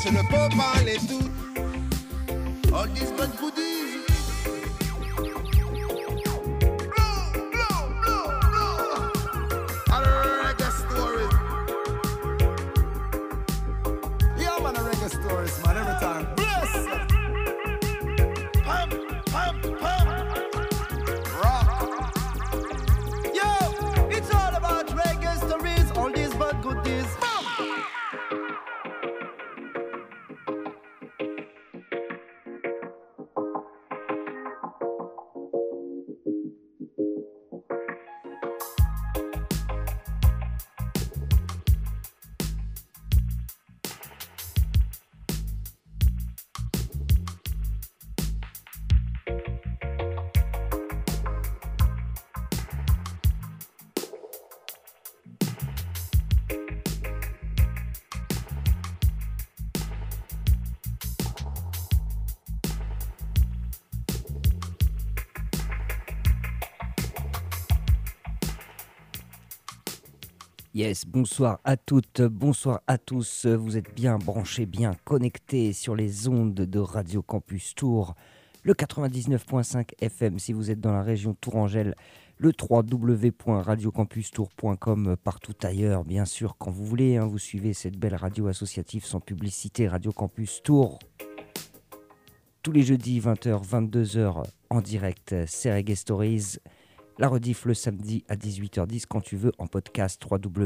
je ne peux pas les tout. All these bad goodies. Stories, man, every time. Bless! Pump, pump, pump. Rock. Yo, it's all about reggae stories, all these bad goodies. Yes, bonsoir à toutes, bonsoir à tous. Vous êtes bien branchés, bien connectés sur les ondes de Radio Campus Tours, le 99.5 FM si vous êtes dans la région Tourangelle, le www.radiocampustour.com partout ailleurs, bien sûr, quand vous voulez. Vous suivez cette belle radio associative sans publicité, Radio Campus Tours. Tous les jeudis, 20h, 22h, en direct, c'est Reggae Stories. La rediff le samedi à 18h10 quand tu veux en podcast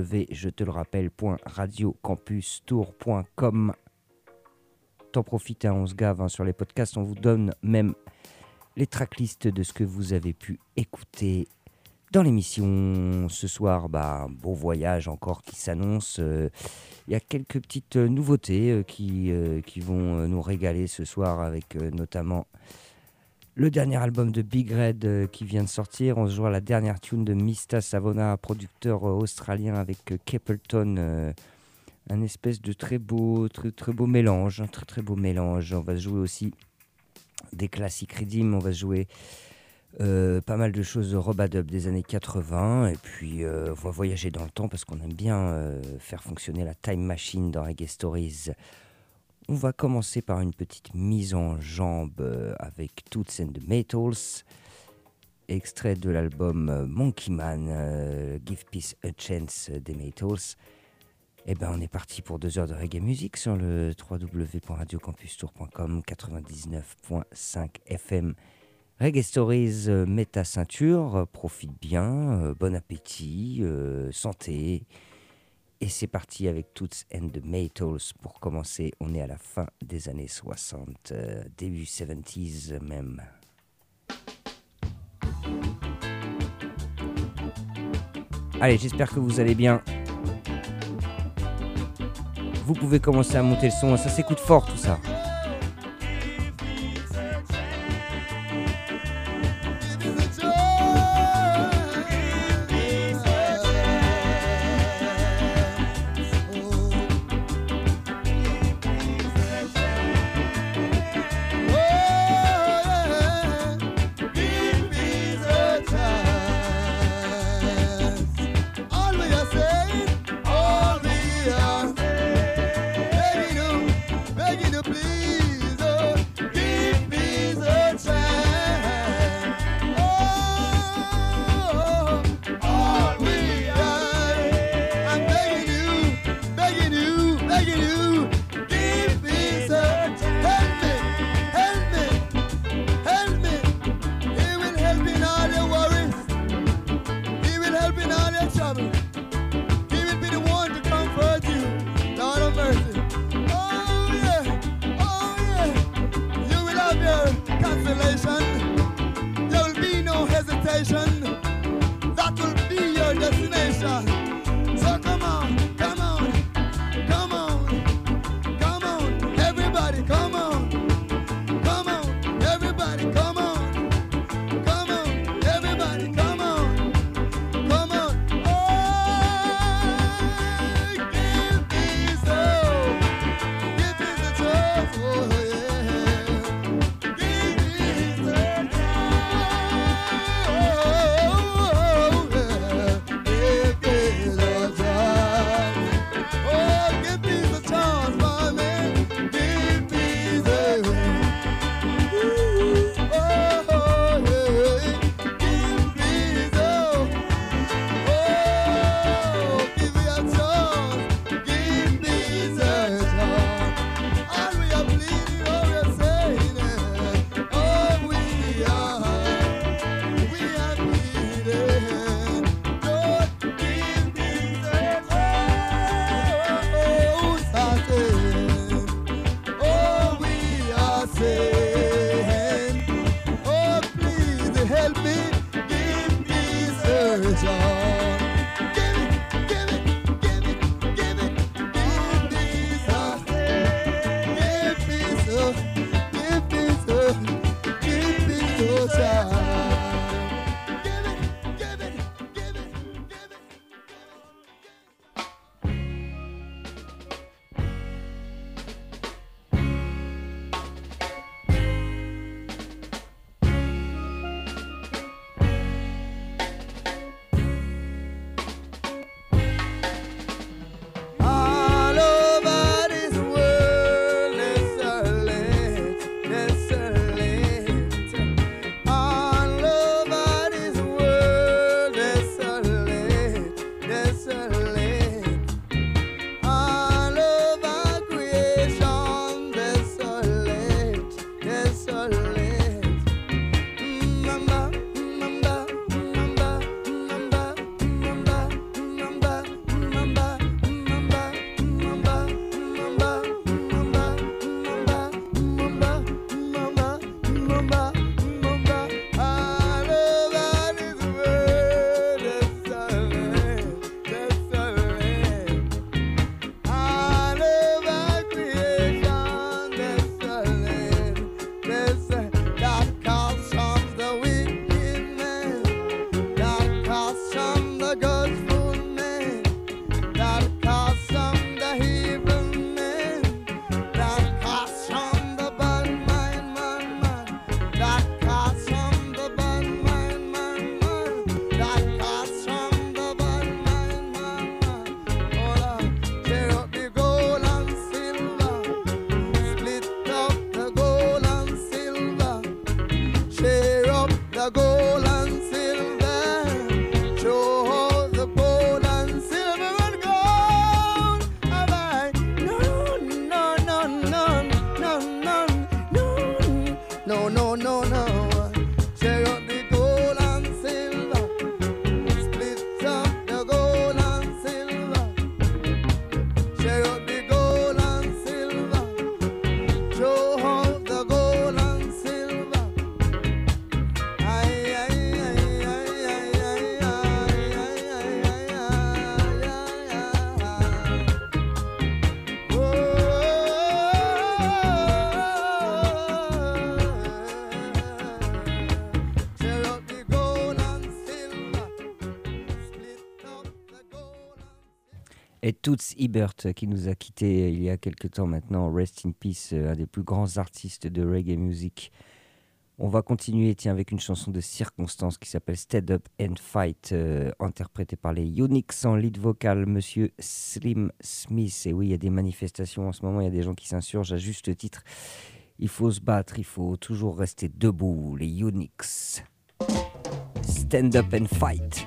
www.radiocampustour.com. T'en profites, on se gave sur les podcasts, on vous donne même les tracklists de ce que vous avez pu écouter dans l'émission. Ce soir, bon voyage encore qui s'annonce. Il y a quelques petites nouveautés qui vont nous régaler ce soir avec notamment le dernier album de Big Red qui vient de sortir. On se joue à la dernière tune de Mista Savona, producteur australien avec Capleton. Un espèce de très beau mélange, très beau mélange. On va se jouer aussi des classiques Redeem. On va se jouer pas mal de choses de Robadub des années 80. Et puis on va voyager dans le temps parce qu'on aime bien faire fonctionner la time machine dans Reggae Stories. On va commencer par une petite mise en jambe avec Toots and the Maytals, extrait de l'album Monkey Man, Give Peace a Chance des Maytals. Et on est parti pour 2 heures de reggae music sur le www.radiocampustour.com 99.5 FM. Reggae Stories, mets ta ceinture, profite bien, bon appétit, santé. Et c'est parti avec Toots and the Maytals pour commencer. On est à la fin des années 60, début 70s même. Allez, j'espère que vous allez bien. Vous pouvez commencer à monter le son, ça s'écoute fort tout ça. Oh Et Toots Hibbert qui nous a quittés il y a quelques temps maintenant, Rest in Peace, un des plus grands artistes de reggae music. On va continuer avec une chanson de circonstance qui s'appelle Stand Up and Fight, interprétée par les Unix en lead vocal, Monsieur Slim Smith. Et oui, il y a des manifestations en ce moment, il y a des gens qui s'insurgent à juste titre. Il faut se battre, il faut toujours rester debout, les Unix. Stand Up and Fight.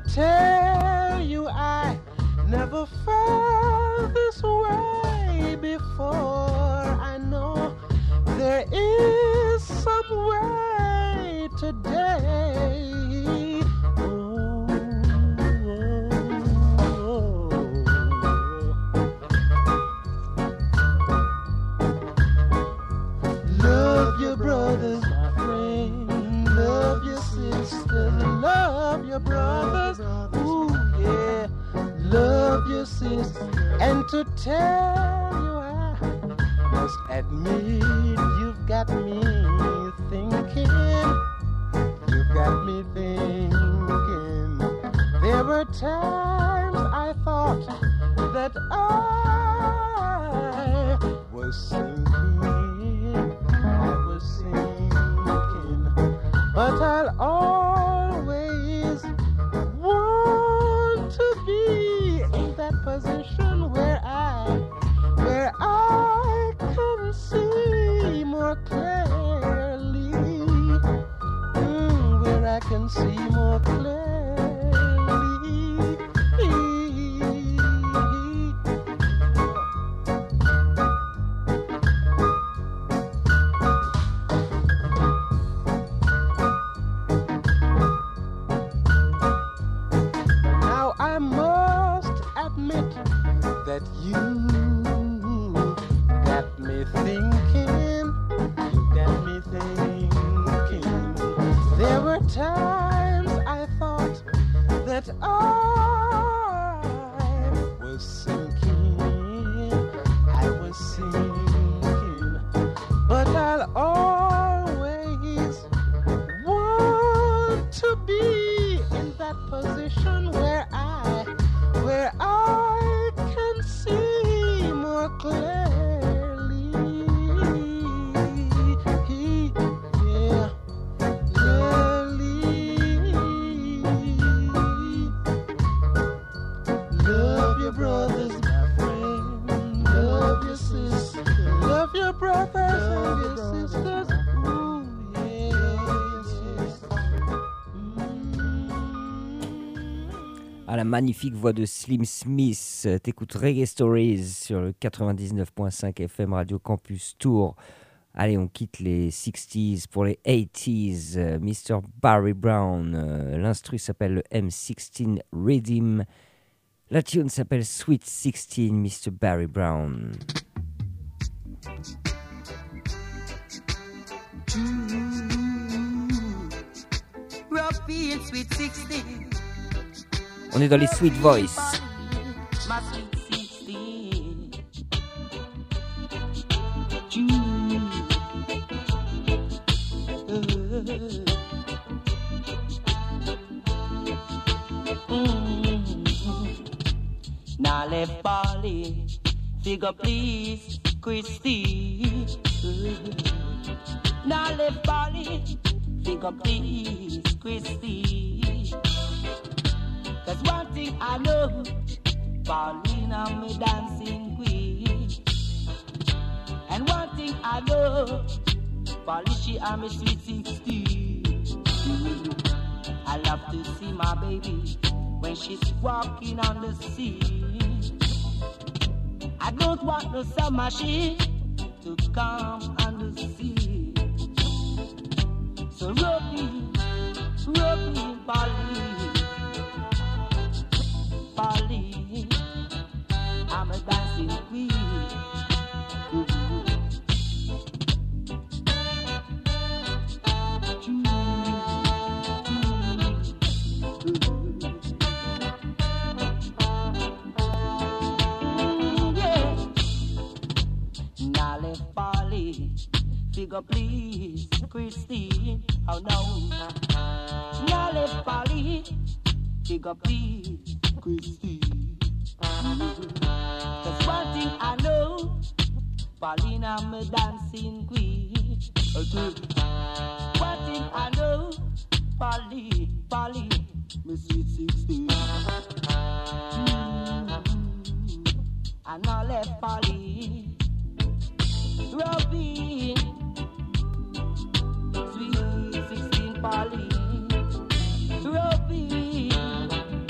tell you I never felt this way before. I know there is some way today. Love your brothers, my friend. Love your sisters. Love your brothers. Ooh, yeah. Love your sisters. And to tell you I must admit you've got me thinking. You've got me thinking. There were times I thought that I was sinking. I was sinking. But I'll always want to be in that position where I can see more clearly, where I can see more clearly. Now I must admit that you got me thinking. You got me thinking. There were times I thought that I was sinking. I was sinking. But I'll always want to be in that position where I can see more clearly. Yeah, clearly. Love your brothers, my friend. Love your sisters. Love your brothers and your sisters. Ooh, yes. À la magnifique voix de Slim Smith, t'écoutes Reggae Stories sur le 99.5 FM Radio Campus Tour. Allez, on quitte les 60s pour les 80s. Mr. Barry Brown, l'instru s'appelle le M16 Rhythm. La tune s'appelle Sweet 16, Mr. Barry Brown. Rough Sweet 16. On est dans les Sweet Voice. My Sweet 16. Now left Bali, figure please, Christy. Now left Bali, figure please, Christy. Cause one thing I know, Paulina me dancing queen. And one thing I know, Paulie she am me sweet 16. I love to see my baby when she's walking on the sea. I don't want no submachine to come on the sea. So rope me, Paulie. Polly, I'm a dancing queen. Yeah. Now let Polly figure please, Christine. Oh no. Now let Polly figure please. Christy. Cause one thing I know, Paulina me dancing queen. Okay. One thing I know, Polly, me sweet 16. And I left Polly, Robin, sweet 16 Polly, Robin.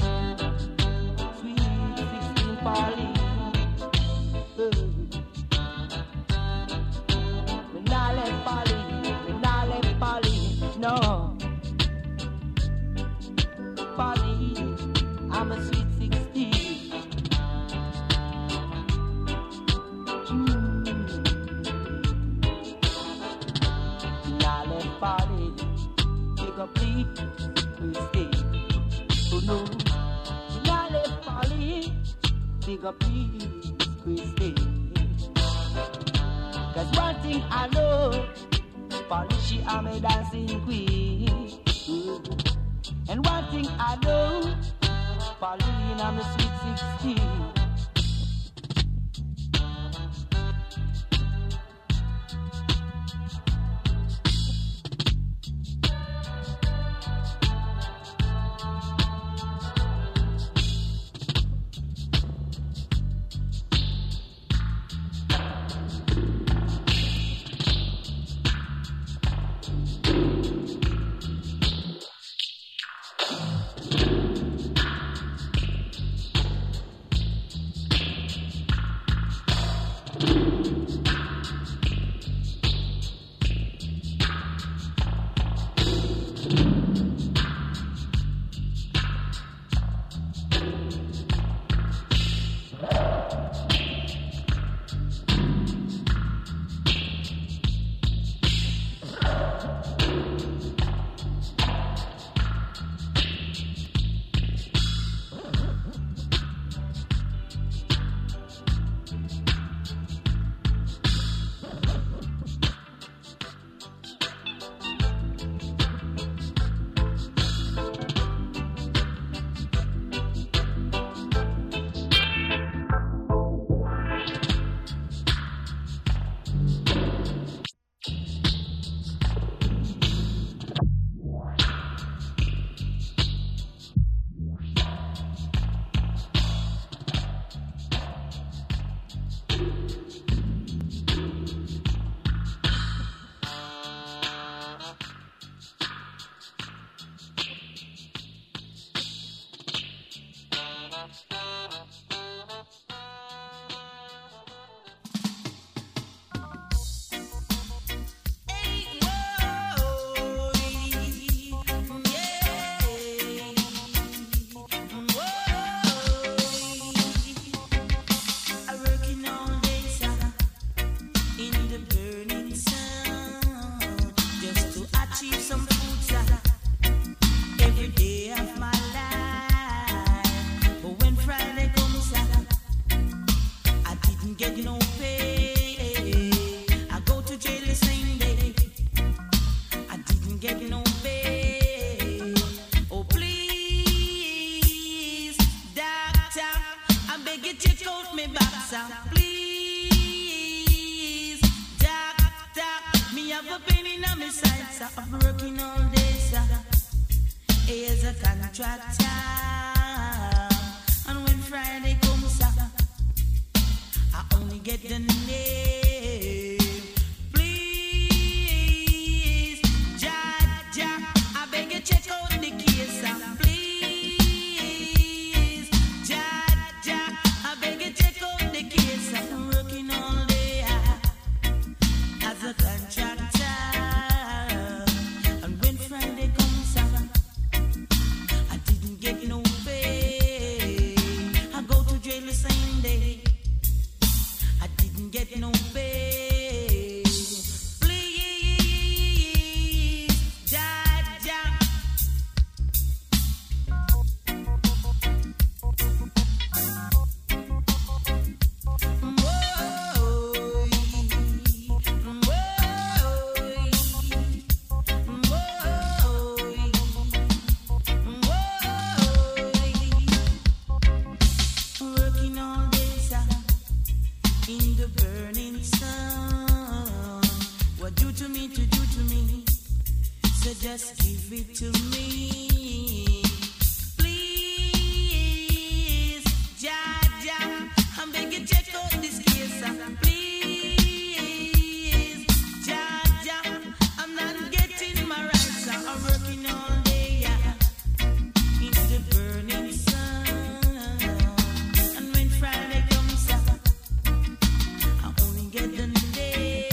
Polly, take a please, Christy. Oh no, not let Polly, take a please, Christy. Cause one thing I know, Polly, she am a dancing queen. And one thing I know, Pauline, I'm a sweet 16.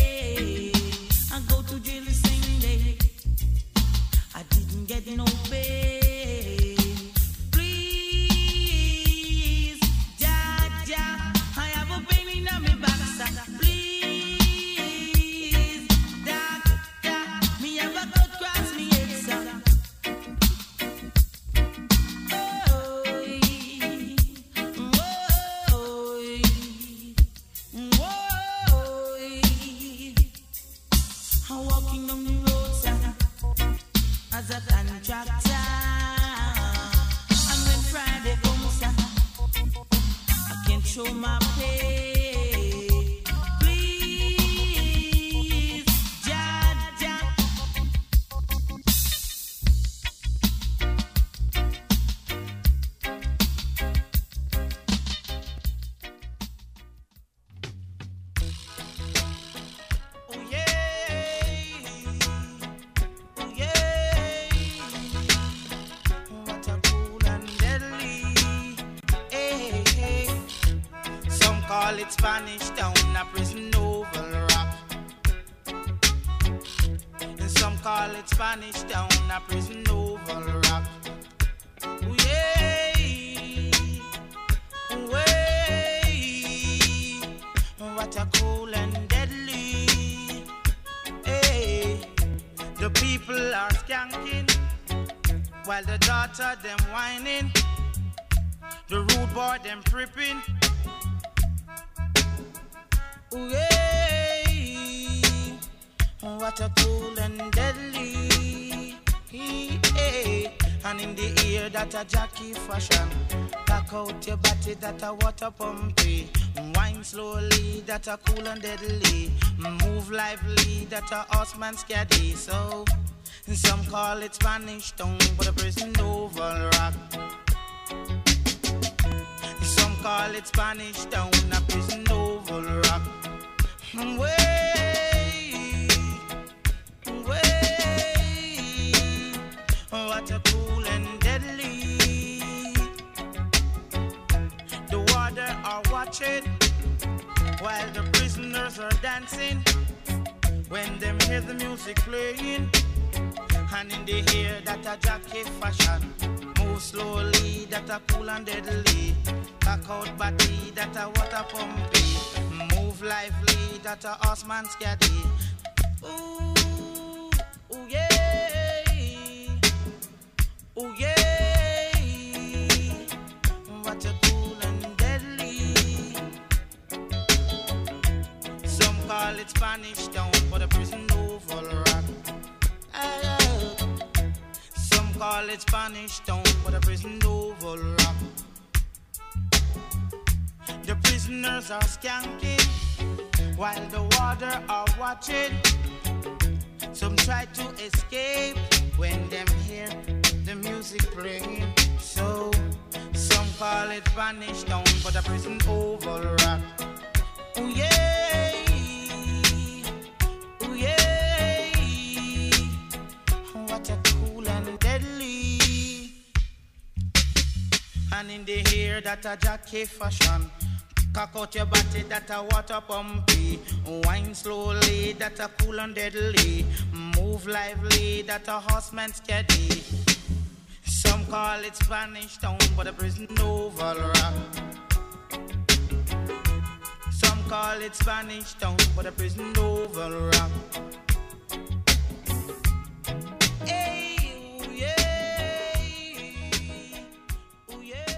No pay. I'm walking down the road, sir, as a contractor. And when Friday comes, sir, I can show my pay. Please, Jah, Jah. Oh yeah, oh yeah. What a cool and deadly. Hey, hey. Some call it Spanish Town, a prison oval rock. And some call it Spanish Town, a prison oval rock. Oh yeah, oh yeah. What a cool and deadly. Hey, the people are skanking while the daughter them whining. The rude boy them tripping. Ooh, yeah. What a cool and deadly. Yeah. And in the ear that a jockey fashion. Back out your body that a water pumpy. Wine slowly that a cool and deadly. Move lively that a horseman scary. So some call it Spanish Town, but a prison oval rock. Some call it Spanish Town, a prison oval rock. Way, way, what a cool and deadly. The water are watching while the prisoners are dancing. When them hear the music playing, and in the ear that a jockey fashion. Move slowly, that a cool and deadly. Cock out body, that a water pumpy. Move lively, that a horseman scary. Ooh, ooh yeah, ooh yeah. What a cool and deadly. Some call it Spanish Town, but a prison oval rock. Some call it Spanish Town, but a prison oval rock. The prisoners are skanking while the water are watching. Some try to escape when them hear the music playing. So some call it Spanish Town, but a prison oval rock. Ooh yeah, ooh yeah. What a cool and deadly. And in the ear that a jockey fashion. Cock out your body that a water pumpy. Wine slowly that a cool and deadly. Move lively that a horseman steady. Some call it Spanish Town, but a prison oval rock. Some call it Spanish Town, but a prison oval rock. Hey, ooh, yeah. Ooh, yeah.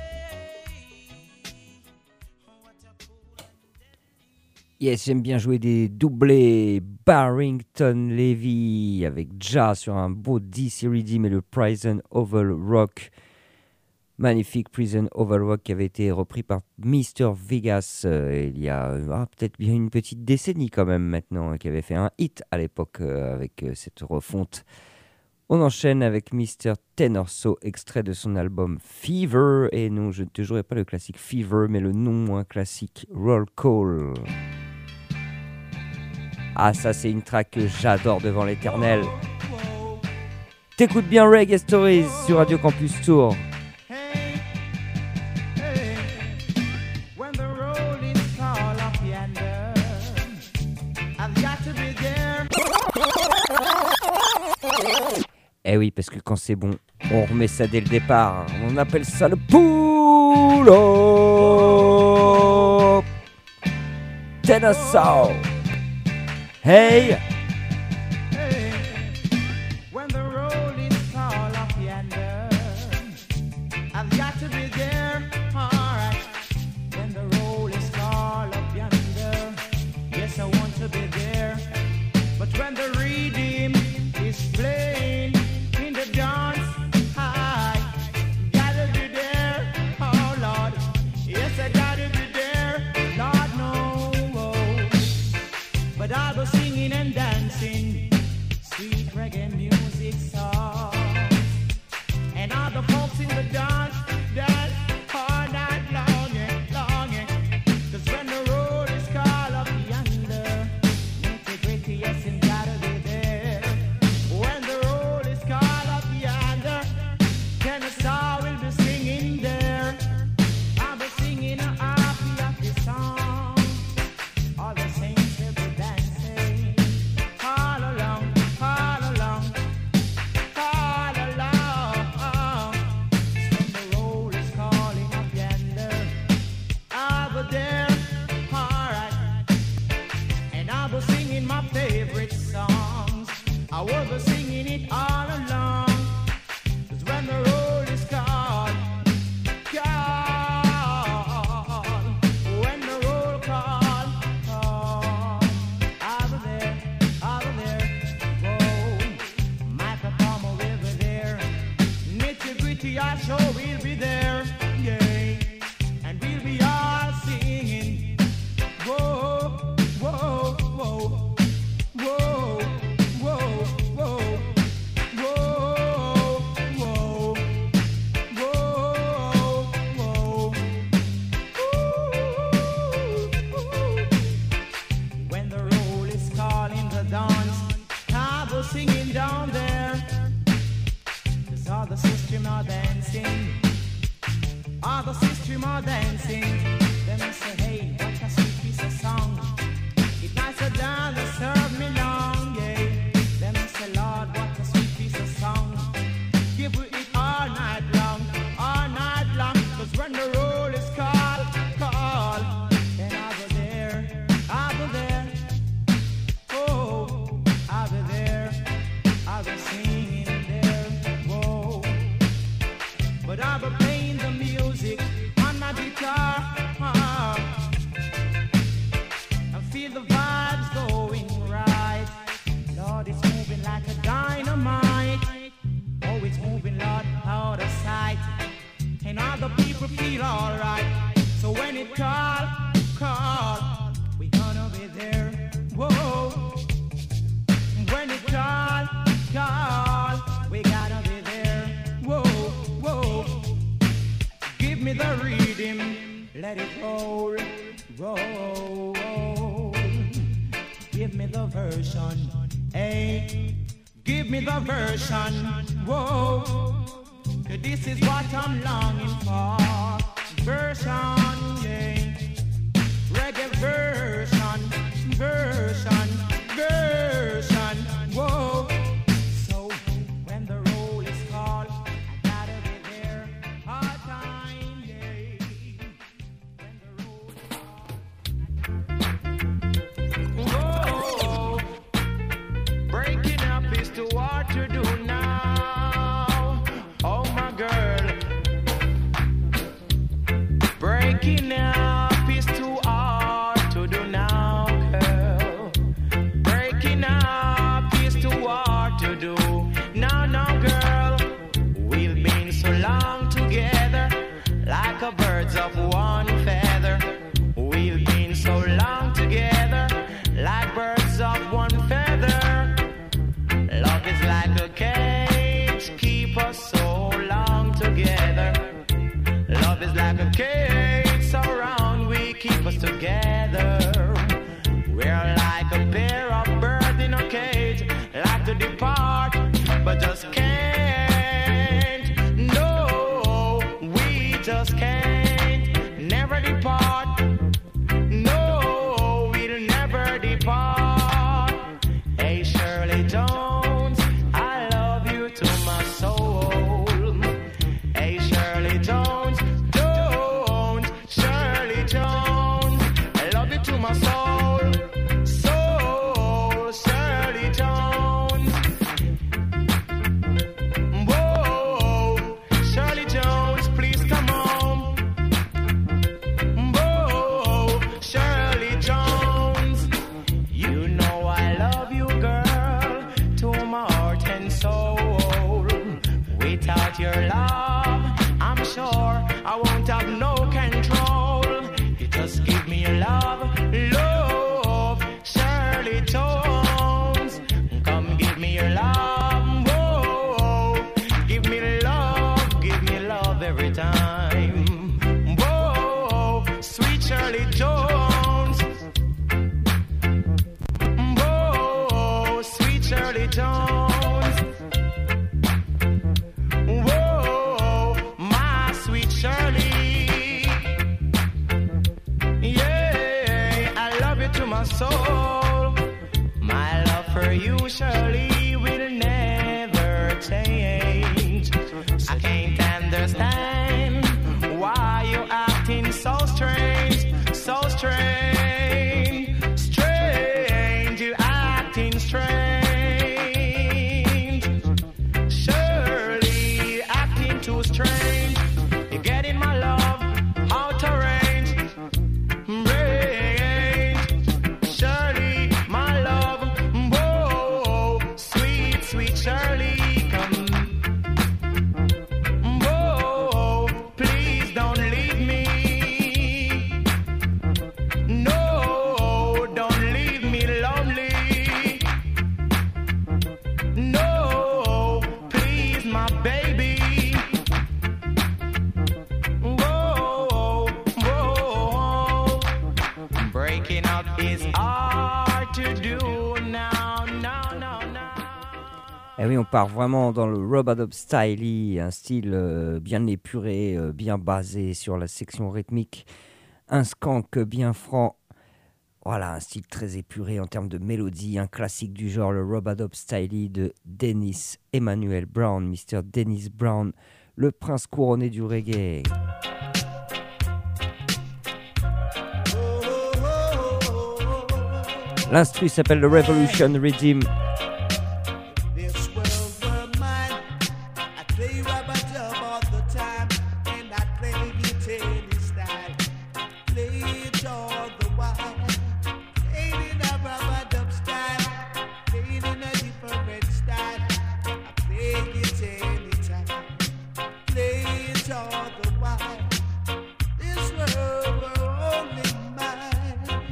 Yes, j'aime bien jouer des doublés. Barrington Levy avec Ja sur un beau D-Series mais le Prison Oval Rock. Magnifique Prison Oval Rock qui avait été repris par Mr. Vegas il y a peut-être bien une petite décennie quand même maintenant, qui avait fait un hit à l'époque avec cette refonte. On enchaîne avec Mr. Tenorso, extrait de son album Fever. Et non, je ne te jouerai pas le classique Fever, mais le non moins classique Roll Call. Ah, ça c'est une track que j'adore devant l'éternel. T'écoutes bien Reggae Stories sur Radio Campus Tour. Eh oui, parce que quand c'est bon, on remet ça dès le départ. On appelle ça le pull-up. Tenorso. Hey. Hey, when the roll is tall up yonder, I've got to be there, alright. When the roll is tall up yonder, yes I want to be there. But when the reed I was singing it all along. 'Cause when the roll is called, when the roll call, I'll be there, whoa. Microphone will be there, nitty gritty I sure will be there, yeah. And we'll be all singing, whoa, whoa, whoa. Whoa, whoa, whoa, whoa, whoa, whoa, whoa. When the roll is calling the dance, I was singing down there. 'Cause all the system are dancing, all the system are dancing. Then I say, hey, what a sweet piece of song. It nice to dance and serve me long, yeah. Then I say, Lord, what a sweet piece of song. Give it all night long, 'cause when the roll is called, then I'll be there, oh, I'll be there, I'll be singing there, whoa. But I'll be playing the music on my guitar, feel the vibes going right. Lord, it's moving like a dynamite. Oh, it's moving, Lord, out of sight. And all the people feel alright. So when it call, we gonna be there. Whoa. When it call, we gotta be there. Whoa, whoa. Give me the rhythm, let it roll, roll. Give me the version, hey. Give me the version, whoa. 'Cause this is what I'm longing for. Version, yeah. Reggae version, whoa. So when the roll is called, I gotta be there all time, yeah. When the roll is called, breaking up is too hard to do now. Oh my girl. Breaking up is too hard to do now, girl. Breaking up is too hard to do now, girl. We've been so long together, like a birds of one feather. We've been so long together, like birds of one feather. Love is like a cage, keep us so long together. Love is like a cage, so round we keep us together. We're like a pair of birds in a cage, like to depart, but just can't. No, we just can't. Never depart. No, we'll never depart. Hey, Shirley Jones, I love you to my soul. Hey, Shirley Jones, Shirley Jones, I love you to my soul. Shirley Jones. Whoa, Shirley Jones, please come home. Whoa, Shirley Jones. You know I love you, girl, to my heart and soul. Without your love, I'm sure I won't have no control. You just give me your love, Shirley Jones. Come give me your love, whoa. Give me love every time. Whoa, sweet Shirley Jones. Whoa, sweet Shirley Jones. Whoa, my sweet Shirley. Yeah, I love you to my soul. My love for you, Shirley, will never change. I can't understand why you acting so strange, strange. You acting strange. Et oui, on part vraiment dans le rub-a-dub style, un style bien épuré, bien basé sur la section rythmique, un skank bien franc. Voilà, un style très épuré en termes de mélodie, un classique du genre, le rub-a-dub style de Dennis Emmanuel Brown, Mr. Dennis Brown, le prince couronné du reggae. L'instru s'appelle le Revolution Rhythm. This world were mine. I play rub-a-dub all the time, and I play it any style. Play it all the while. Play it in a rub-a-dub style. Play it in a different style. I play it anytime. Play it all the while. This world were only mine.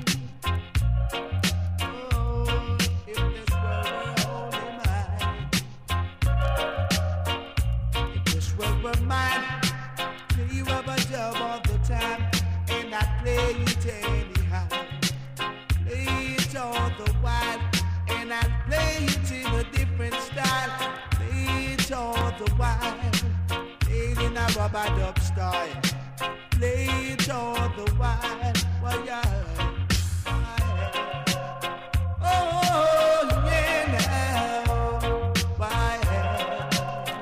Oh, if this world were only mine. If this world were mine, play rub-a-dub all the time, and I play it anyhow. Play it all the while, and I play it in a different style. Play it all the while, play it in a rub-a-dub style. Play it all the while, well, yeah. Oh, yeah, now, why, yeah.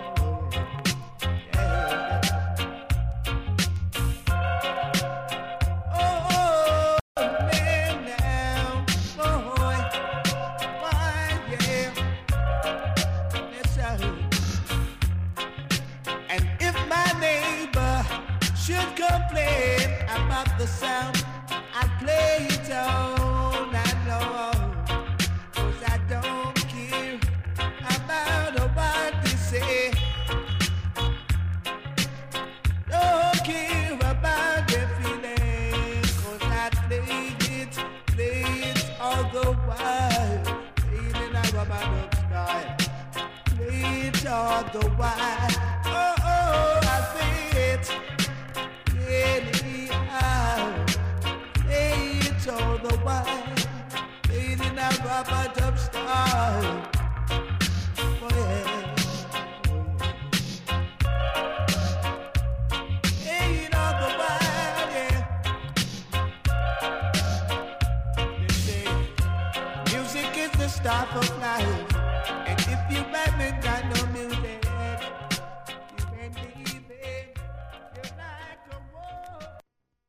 Oh, man, now, boy, why, yeah. Yes, sir. And if my neighbor should complain about the sound, I play it all night long. 'Cause I don't care about what they say. Don't care about their feelings. 'Cause I play it all the while. Play it in a rub-a-dub style. Play it all the while. Oh, I play it anyhow. Play it all the while. Play it in a rub-a-dub style. Oh, yeah. Play it all the while, yeah. They say music is the stuff of life, and if you haven't got no music, you ain't living. You're like a wolf.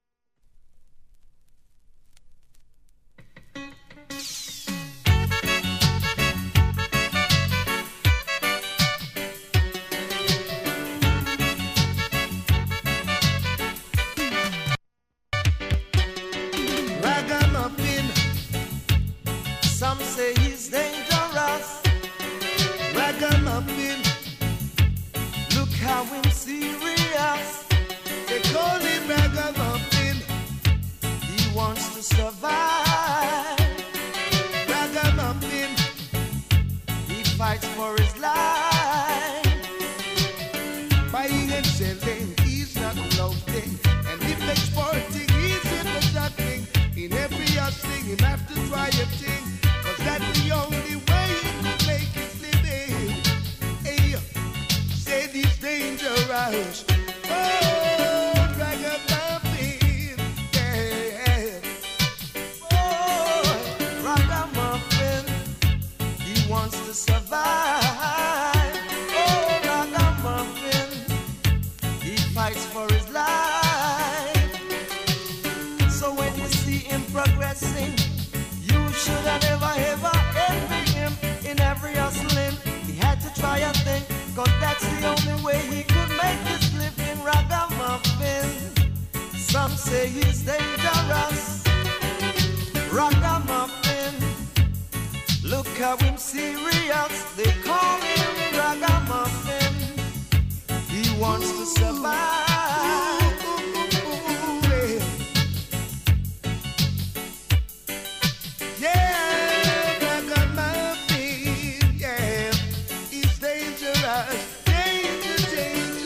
Ragamuffin, some say he's dangerous. Ragamuffin, look how him serious. They call him Ragamuffin, he wants to survive. Ragamuffin, he fights for his life. Buying and selling, he's not loafing. And if exporting, he's in the juggling. In every thing, he have to try a thing. 'Cause that's the only way he can make his living. Hey, said he's dangerous. Oh, Ragamuffin, yeah. Oh, Ragamuffin, he wants to survive. Oh, Ragamuffin, he fights for his life. So when you see him progressing, you should have never ever envy him in every hustling. He had to try a thing, 'cause that's the only way he could make his living. Ragamuffin, some say he's dangerous. Ragamuffin, look how him serious. They call him Ragamuffin, he wants to survive. Yeah, Ragamuffin, yeah, he's dangerous, dangerous.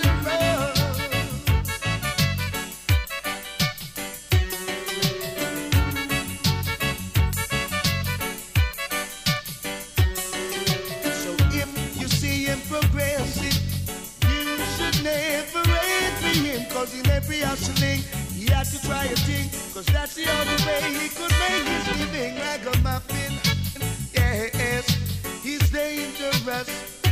So cause that's the only way he could make his living. Ragamuffin, yes, he's dangerous.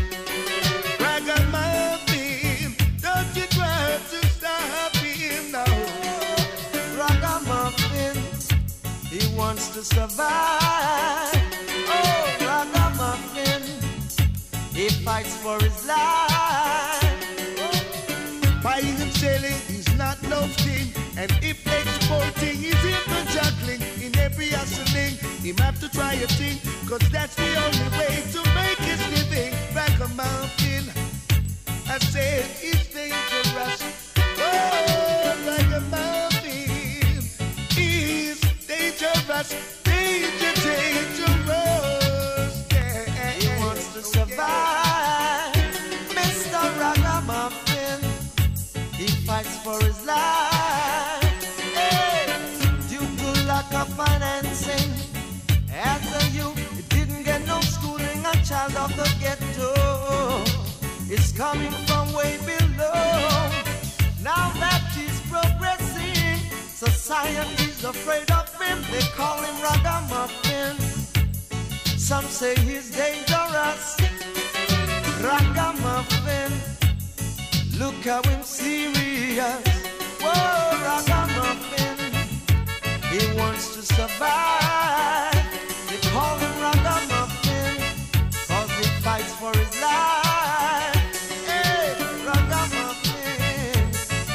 Ragamuffin, don't you try to stop him now. Ragamuffin, he wants to survive. Oh, Ragamuffin, he fights for his life. Buying and selling is not no thing, and if exporting is in the juggling, in every hustling, he have to try a thing, cause that's the only way to make his living. Ragamuffin, I said he's dangerous. Oh, Ragamuffin, he's dangerous, dangerous. Yeah. He wants to survive, Mr. Ragamuffin. He fights for his life. Hey, due to lack of financing, as a youth, he didn't get no schooling. A child of the ghetto is coming from way below. Now that he's progressing, society's afraid of him. They call him Ragamuffin. Some say he's dangerous. Ragamuffin, look how him serious. Whoa, Ragamuffin, he wants to survive. They call him Ragamuffin, cause he fights for his life. Hey, Ragamuffin,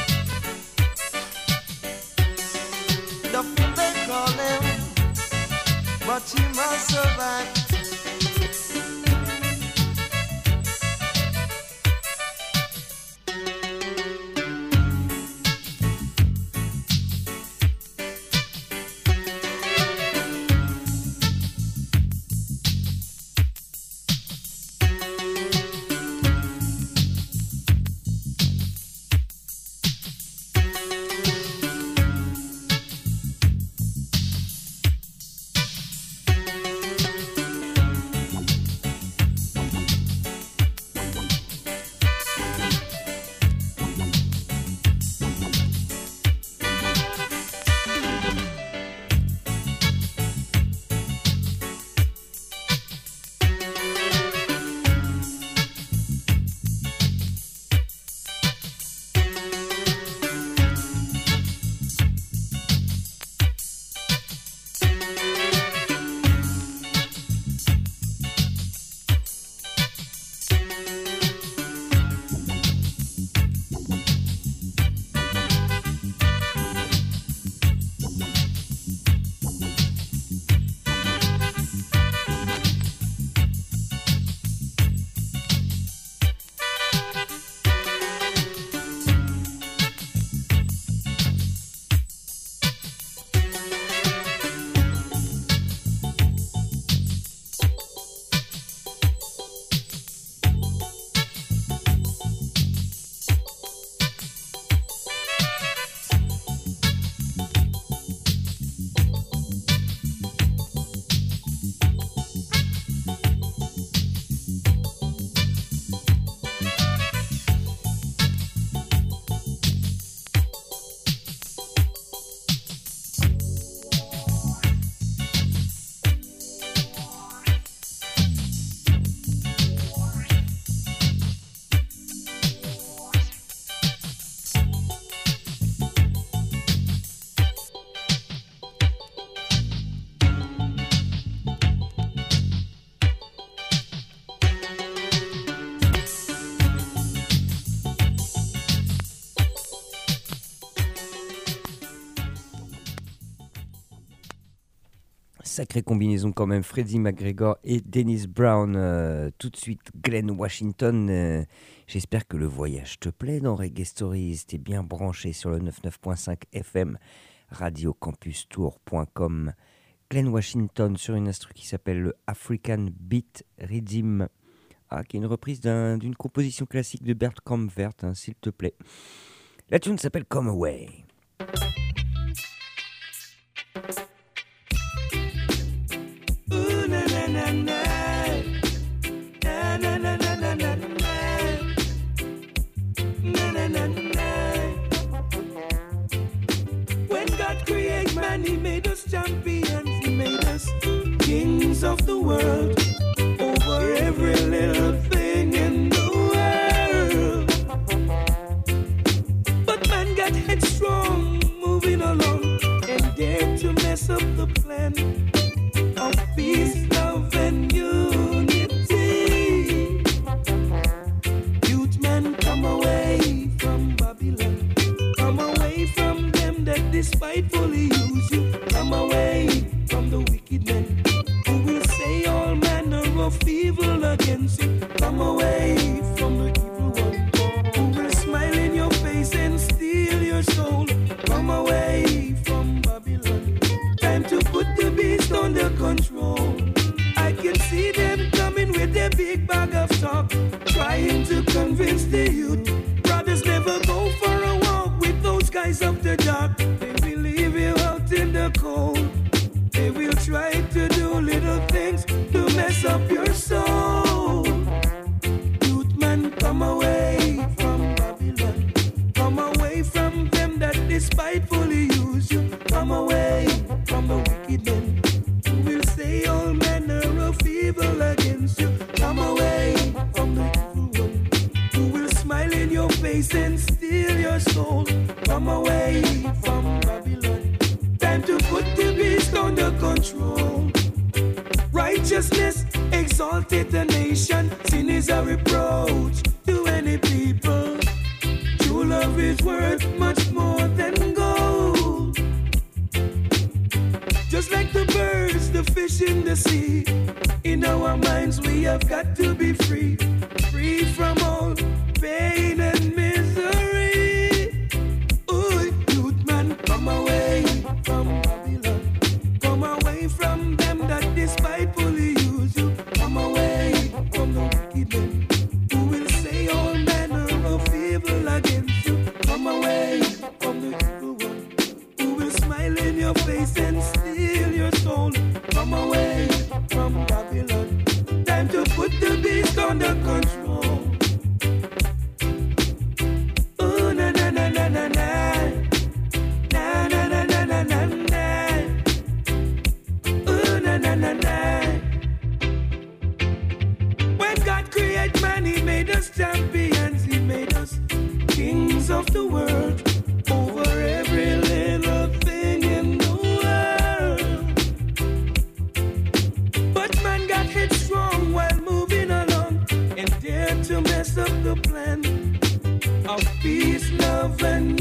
the fool they call him, but he must survive. Sacrée combinaison quand même, Freddie McGregor et Dennis Brown. Tout de suite, Glen Washington. J'espère que le voyage te plaît dans Reggae Stories. T'es bien branché sur le 99.5 FM, radiocampustour.com. Glen Washington sur une instru qui s'appelle le African Beat Rhythm, qui est une reprise d'une composition classique de Bert Kaempfert, s'il te plaît. La tune s'appelle Come Away. When God created man world, over every little thing in the world. But man got headstrong, moving along, and dared to mess up the plan of peace, love, and unity. Youth man, come away from Babylon. Come away from them that despitefully use you. Come away from the wicked men who will say all manner of evil against you. Come away from the evil one who will smile in your face and steal your soul. Come away from Babylon. Time to put the beast under control. I can see them coming with their big bag of talk, trying to convince the youth. Brothers never go for a walk with those guys after dark. They will leave you out in the cold. They will try to do little things to mess up your soul. Youth man, come away from Babylon. Come away from them that despitefully use you. Come away from the wicked men who will say all manner of evil against you. Come away from the evil one who will smile in your face and steal your soul. Come away from Babylon. Time to put the beast under control. Righteousness exalted the nation. Sin is a reproach to any people. True love is worth much more than gold. Just like the birds, the fish in the sea, in our minds we have got to be free. Free from all pain and misery. Ooh, youth man, come away from Babylon. Come away from them that despitefully use you. Come away from the wicked men who will say all manner of evil against you. Come away from the evil one who will smile in your face and steal your soul. Come away from Babylon. Time to put the beast under control. Oh, na na na na na na. Na na na na na na na. Oh, na na na na. When God created man, He made us champions. He made us kings of the world, over every little thing in the world. But man got headstrong while moving along and dared to mess up the plan of peace, love, and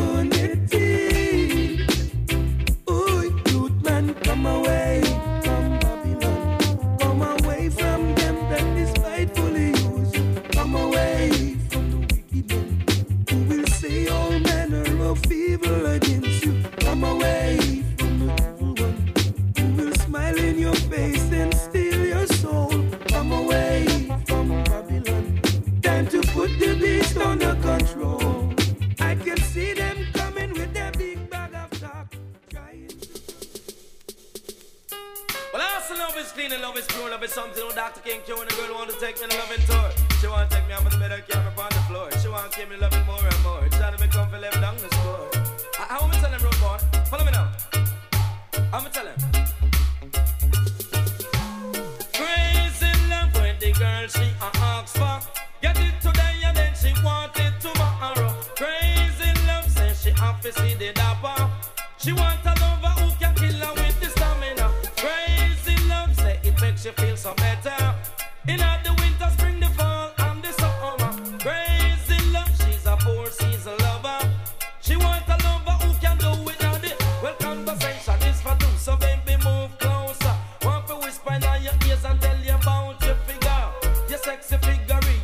unity. Ooh, youth man, come away from Babylon. Come away from them that despitefully use you. Come away from the wicked men who will say all manner of evil against you. Come away from the evil one who will smile in your face and steal your soul. Come away from Babylon. Time to put the beast under control. I can see them coming with their big bag of talk, trying to... Well, I also love is clean and love is pure. Love is something on Dr. King Q and the girl want to take me on a loving tour. She want to take me off of the bed and carry me upon the floor. She want to keep me loving more and more. Trying to make come for left down the score. How am I telling road boy? Follow me now. I'm going to tell him. Crazy love when the girl she asks for. Get it today and then she want it tomorrow. Crazy love says she have to see the dapper. She want a lover who can kill her with the stamina. Crazy love say it makes you feel so better. In the winter, spring, the fall, and the summer. Crazy love, she's a four-season lover. She want a lover who can do it all day. Well, conversation is for two, so baby move closer. Want to whisper in your ears and tell you about your figure, your sexy figure.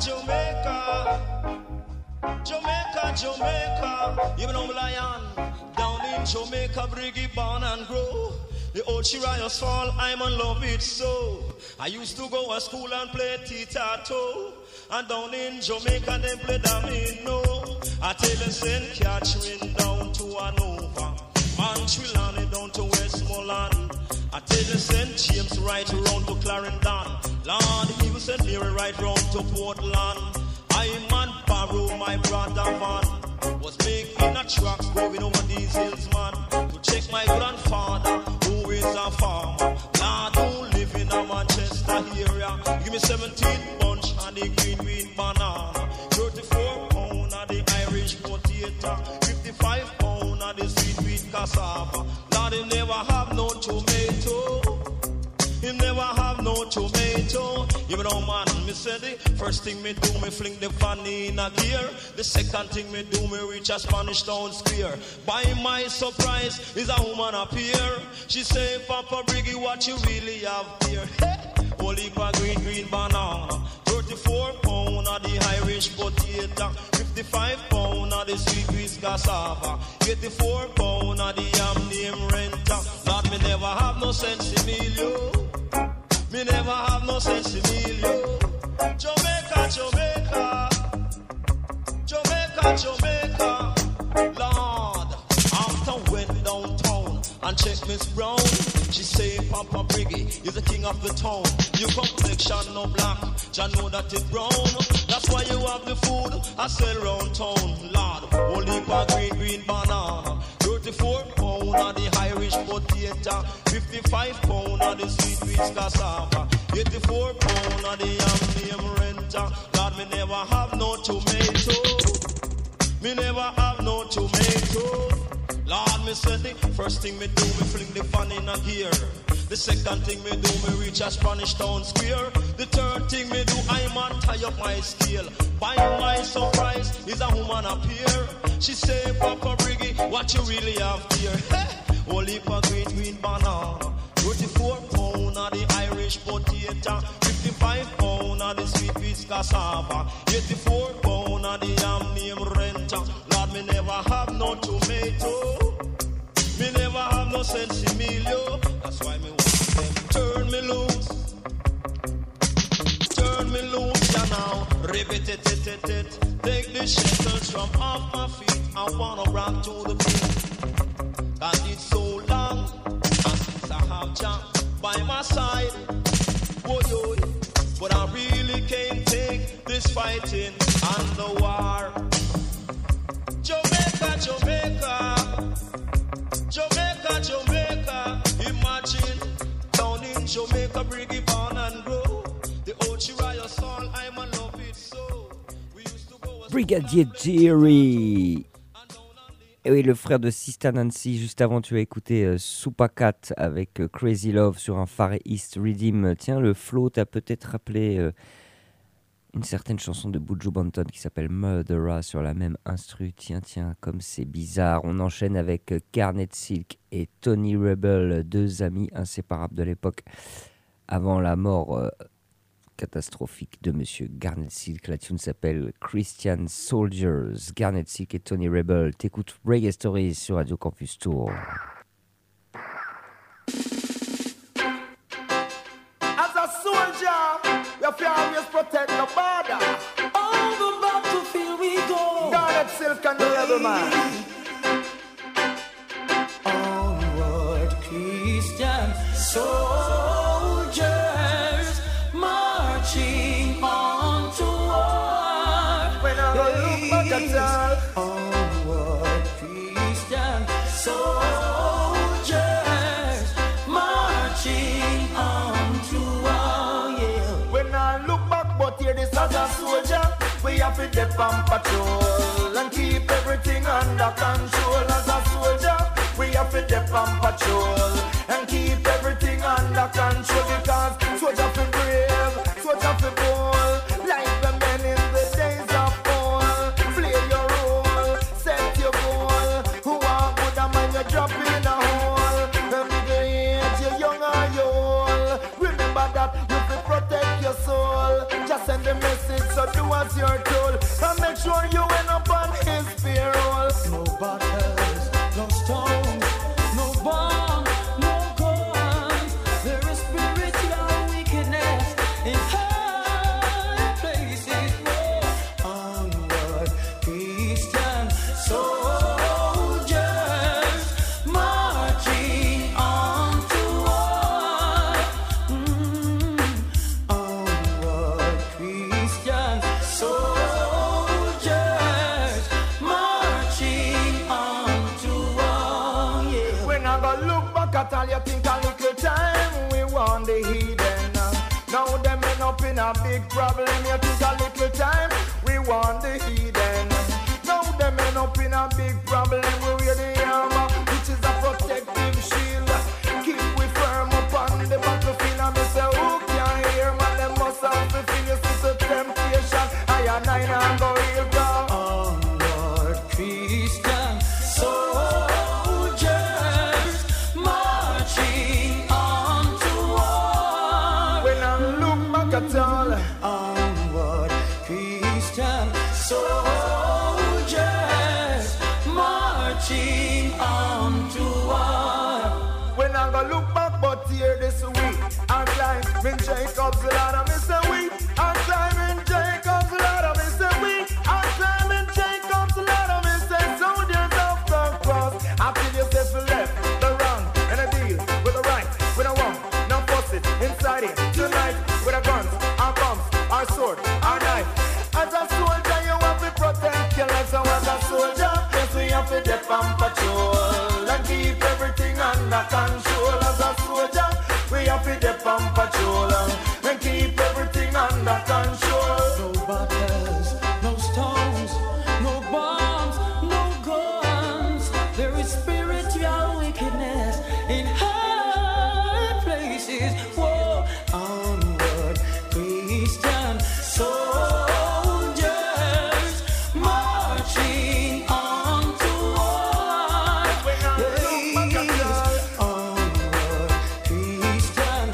Jamaica. Jamaica, Jamaica, even on Lion, down in Jamaica, Briggy born and grow. The old Shirayas fall, I'm in love it so. I used to go to school and play tic-tac-toe, and down in Jamaica they play domino. I tell you, St. Catherine down to Hanover, Montreal and down to Westmoreland. I tell you, St. James right around to Clarendon. Lord, he was St. Mary right round to Portland. I man borrow my brother van, was making a truck going over these hills, man, to check my grandfather who is a farmer. Lord, who live in a Manchester area. Give me 17 bunch of the green banana, 34 pound of the Irish potato, 55 pound of the sweet cassava. Lord, he never have no tomato. He never have no tomato. You know, man, me say the first thing me do, me fling the fanny in a gear. The second thing me do, me reach a Spanish Town Square. By my surprise, is a woman appear. She say, Papa Briggy, what you really have here? Hey, holy green banana, 34 pound of the Irish potato, 55 pound of the sweet cassava, 84 pound of the yam name renter. Lord, me never have no sense in me, yo. Me never have no sense in me, yo. Jamaica, Jamaica, Jamaica, Jamaica. Lord, after went downtown and checked Miss Brown, she say Papa Briggy is the king of the town. Your complexion no black, ya know that it brown. That's why you have the food I sell round town. Lord, only for green banana, 34 pound of the Irish potato, 55 pound of the sweet cassava, 84 pound of the yam name renter. Lord, me never have no tomato. Me never have no tomato. Lord, me say the first thing me do, me fling the fan in a gear. The second thing me do, me reach a Spanish Town Square. The third thing me do, I man tie up my scale. By my surprise, is a woman appear. She say, Papa Briggy, what you really have here? Hey, only for green banana, 34 pound of the Irish potato, 55 pound of the sweet cassava, 84 pound of the yam name renter. Lord, me never have no tomato. Me never have no sense in me, yo. That's why me want them turn me loose. Turn me loose, ya now. Ribbit it. Take the shackles from off my feet. I wanna rock to the beat. Cause it's so long, and since I have Jah by my side, oh yo, but I really can't take this fighting and the war. Jamaica, Jamaica, Jamaica, Jamaica. Imagine down in Jamaica, Briggy born and grow. The old Shiraya song, I'm in love it so. We used to go. Brigadier Jerry. Et oui, le frère de Sister Nancy. Juste avant, tu as écouté Supacat avec Crazy Love sur un Far East Rhythm. Tiens, le flow t'a peut-être rappelé une certaine chanson de Buju Banton qui s'appelle Murderer sur la même instru. Tiens, comme c'est bizarre. On enchaîne avec Garnet Silk et Tony Rebel, deux amis inséparables de l'époque avant la mort catastrophique de Monsieur Garnet Silk. La tune s'appelle Christian Soldiers. Garnet Silk et Tony Rebel. T'écoutes Reggae Stories sur Radio Campus Tour. As a soldier, you have to always protect the border. On the battlefield we go. Garnet Silk and the Rebel Man. Onward, Christian soldiers, marching on to war. When I look back at that, Onward, Christian soldiers, marching on to war. Yeah. when I look back, but here this as a soldier, we have to dip on patrol and keep everything under control. As a soldier, we have to dip on patrol and keep everything under control. Because soldier feel brave, soldier feel bold, like the men in the days of old. Play your role, set your goal. Who are good and man you drop in a hole. And the age you're young or you old, remember that you will protect your soul. Just send the message, so do as you're told. And make sure you end up on his payroll. No battles, no stones, no bombs, no guns. There is spiritual wickedness in high places. Onward, Christian soldiers marching on to war. Onward, Christian soldiers marching on to war. Yeah. When I go look back at all, you think a little time we want the heathen. Now them end up in a big problem. You think a little time we want the heathen. Now them end up in a big problem. We wear the armor, which is a protective shield. Keep we firm up on the battlefield. And me say, who can hear man? Them must have to feel this a temptation. I and I go real down. Oh Lord, Christian soldiers marching on to war. When I look back at all, onward, Christian soldiers marching on to war. When I go look back, but here this week, I climb in Jacob's ladder, me say we. I climb in Jacob's ladder, me say we. I climb in Jacob's ladder, me say soldiers of the cross. After you say for left, the wrong, and a deal with the right, with a wrong. Now force it inside it tonight with a guns, our bombs, our sword, our knife. As a soldier, you have to protect your life. So as a soldier, yes, we have to dip on patrol and keep everything under control. As a soldier, we have to dip on patrol and keep everything under control. No battles, no stones, no bombs, no guns. There is spiritual wickedness in high places. Whoa, onward, Christian soldiers marching on to war. Onward, Christian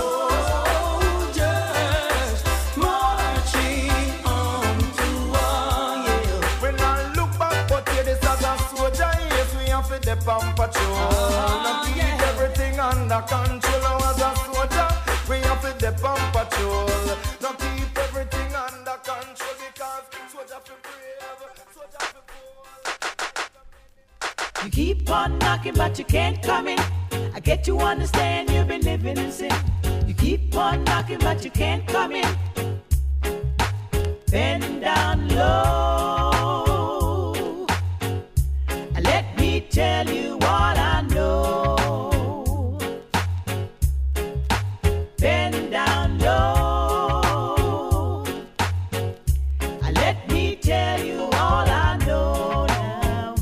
soldiers marching on to war. Yeah. When I look back, but here this as a soldier, yes, we have to dip on patrol and keep everything under control. Now as a soldier, we have to dip on patrol. Now keep everything under control because soldier feel brave, soldier feel bold. You keep on knocking, but you can't come in. I get you understand you've been living in sin. You keep on knocking, but you can't come in. Bend down low and let me tell you what I know. Bend down low and let me tell you all I know now.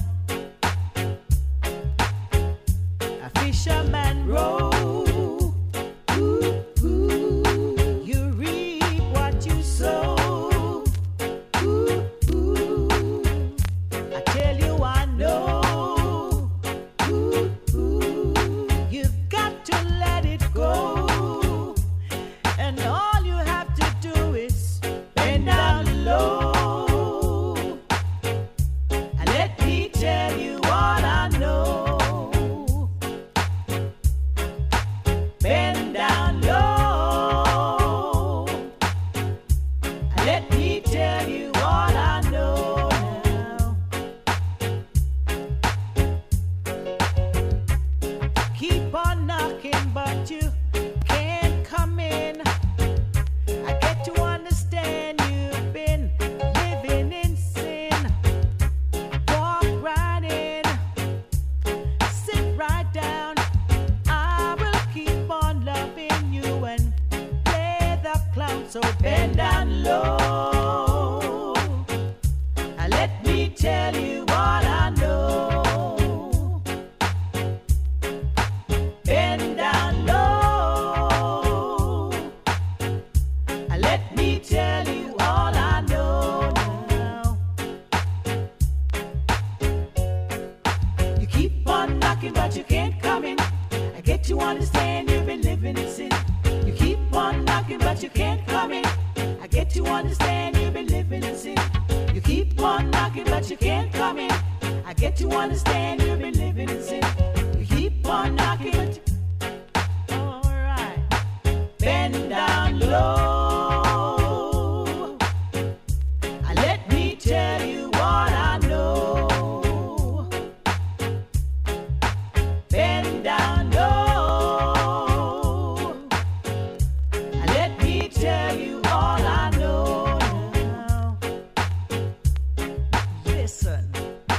A fisherman row. You reap what you sow. I tell you I know. You've got to let it go. And all you have to do is bend down low and let me tell you what I know. Bend down low and let me tell you what I know now. Keep on knocking, but you can't come in. I get to understand you've been living in sin. Walk right in, sit right down. I will keep on loving you and play the clown. So bend down low and let me tell you what I know. Bend down low and let me tell you all I know now. You keep on knocking, but you can't come in. I get to understand you've been living in sin. You keep on knocking, but you can't come in. I get to understand you've been living in sin. You keep on knocking, but you can't come in. I get to understand you've been living in sin. You keep on knocking, but you... Alright. Bend down low. Let me tell you what I know. Bend down low. Let me tell you all I know now. Listen.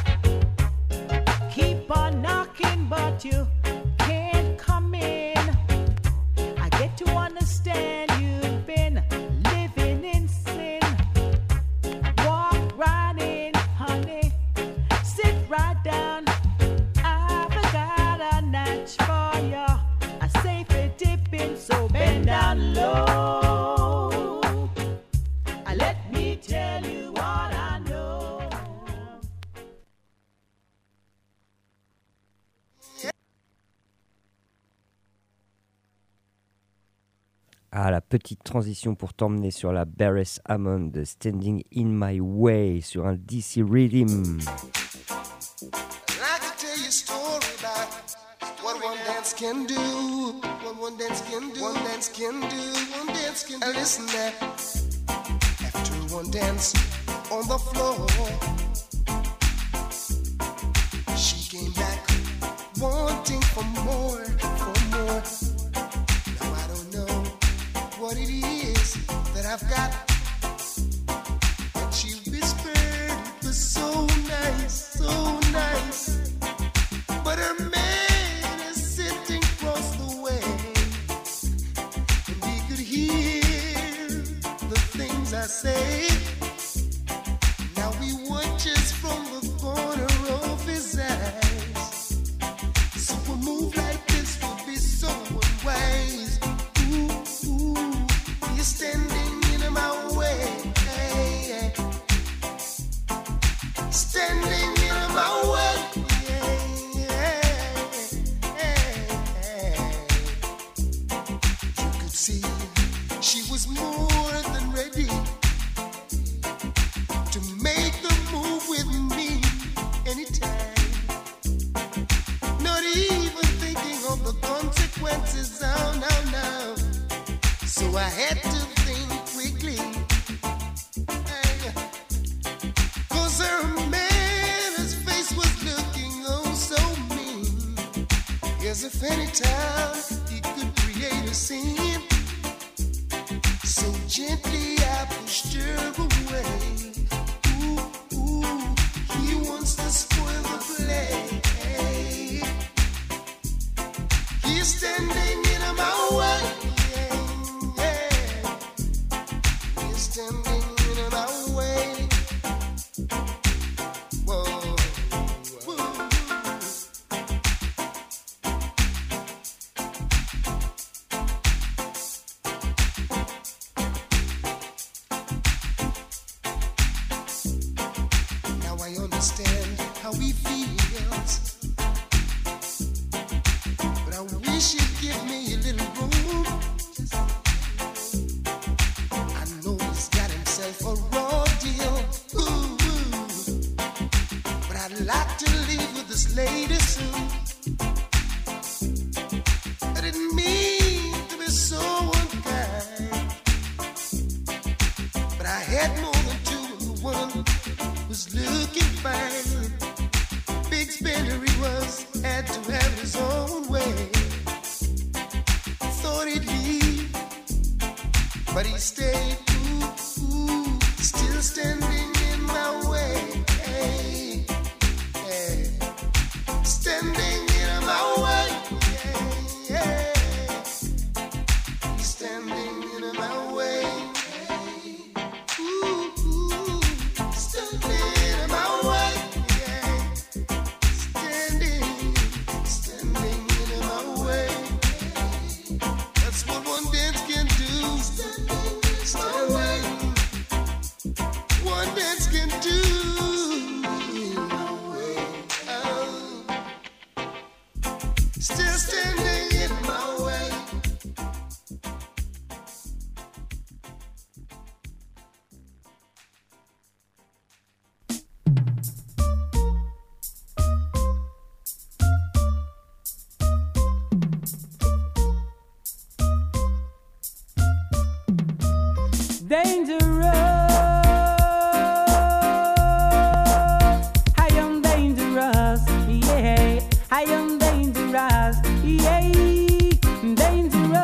Keep on knocking, but you can't come in. I get to understand you've been living in sin. Walk right in, honey. Sit right down. I've got a natch for you. A safe dipping, so bend down low. Let me tell you what I know. Ah, la petite transition pour t'emmener sur la Beres Hammond de Standing in My Way sur un DC Rhythm. I could tell you a story about what one dance can do. What one dance can do. One dance can do. One dance can do. And listen there. After one dance on the floor, she came back wanting for more, for more. Now I don't know what it is that I've got. But she whispered it was so nice, so nice. But her man is sitting across the way, and he could hear the things I say. Now he watches from the corner of his eyes. So a move like this would be so unwise. Ooh, ooh, you're standing in my way. Hey, standing in my way. You could see she was more than ready to make the move with me anytime. Not even thinking of the consequences. Oh, no, no. So I had to think quickly. Hey. 'Cause her man, his face was looking oh so mean, as if anytime he could create a scene. So gently I pushed her away. Ooh, ooh, he wants to spoil the play. He's standing in my way. Yeah, yeah. He's standing in my way. Whoa, whoa. Now I understand how he feels, but I wish you'd give me a little room. I know he's got himself a raw deal, ooh, but I'd like to leave with this lady soon. I didn't mean to be so unkind, but I had more than two, and the one was looking fine. Big spender he was, had to have his own way. Thought he'd leave, but he stayed. Ooh, ooh, still standing in my way. Hey, hey. Standing in my way. Yeah, yeah. He's standing in my way. Hey. Ooh, ooh, standing in my way. Yeah. Standing in my way. That's what one dance can do. Standing. One dangerous. I am dangerous, yeah. I am dangerous, yeah. Dangerous.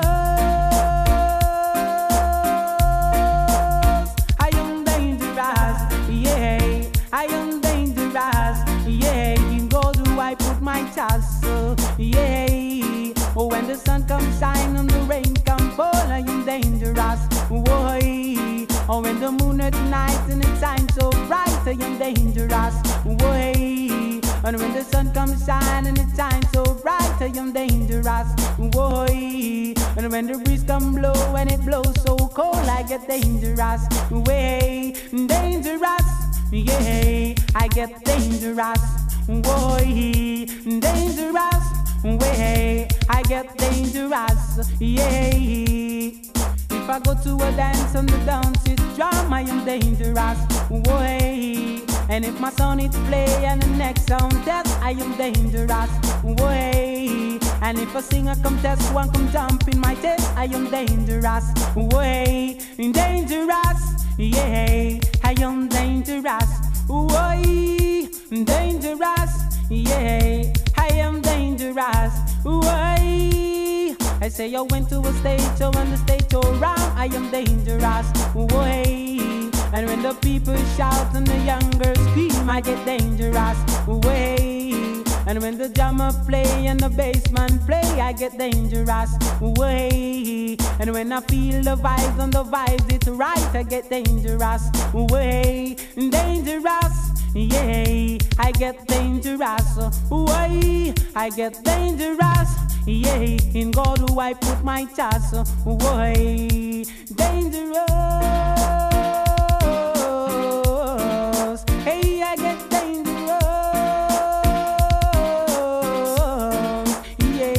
I am dangerous, yeah. I am dangerous, yeah. In God do I put my trust, yeah. Oh, when the sun comes shine and the rain come fall, I am dangerous, why? Oh, when the moon at night and it shines so bright, I am dangerous, why? And when the sun comes shine and it shines so bright, I am dangerous, why? And when the breeze come blow and it blows so cold, I get dangerous, way dangerous, yeah. I get dangerous, why? Dangerous, way I get dangerous, yeah. If I go to a dance and the dance is drum, I am dangerous, way. And if my song is play and the next sound test, I am dangerous, way. And if a singer come test, one come jump in my test, I am dangerous, way. Dangerous, yeah. I am dangerous, way. Dangerous, yeah. I am dangerous, why? I say I went to a stage show and the stage show round, I am dangerous, why? And when the people shout and the young girls scream, I get dangerous, way. And when the drummer play and the bassman play, I get dangerous, way. And when I feel the vibes and the vibes it's right, I get dangerous, way. Dangerous, yeah, I get dangerous, why? I get dangerous, yeah. In God do I put my trust, why? Dangerous, hey, I get dangerous, yeah.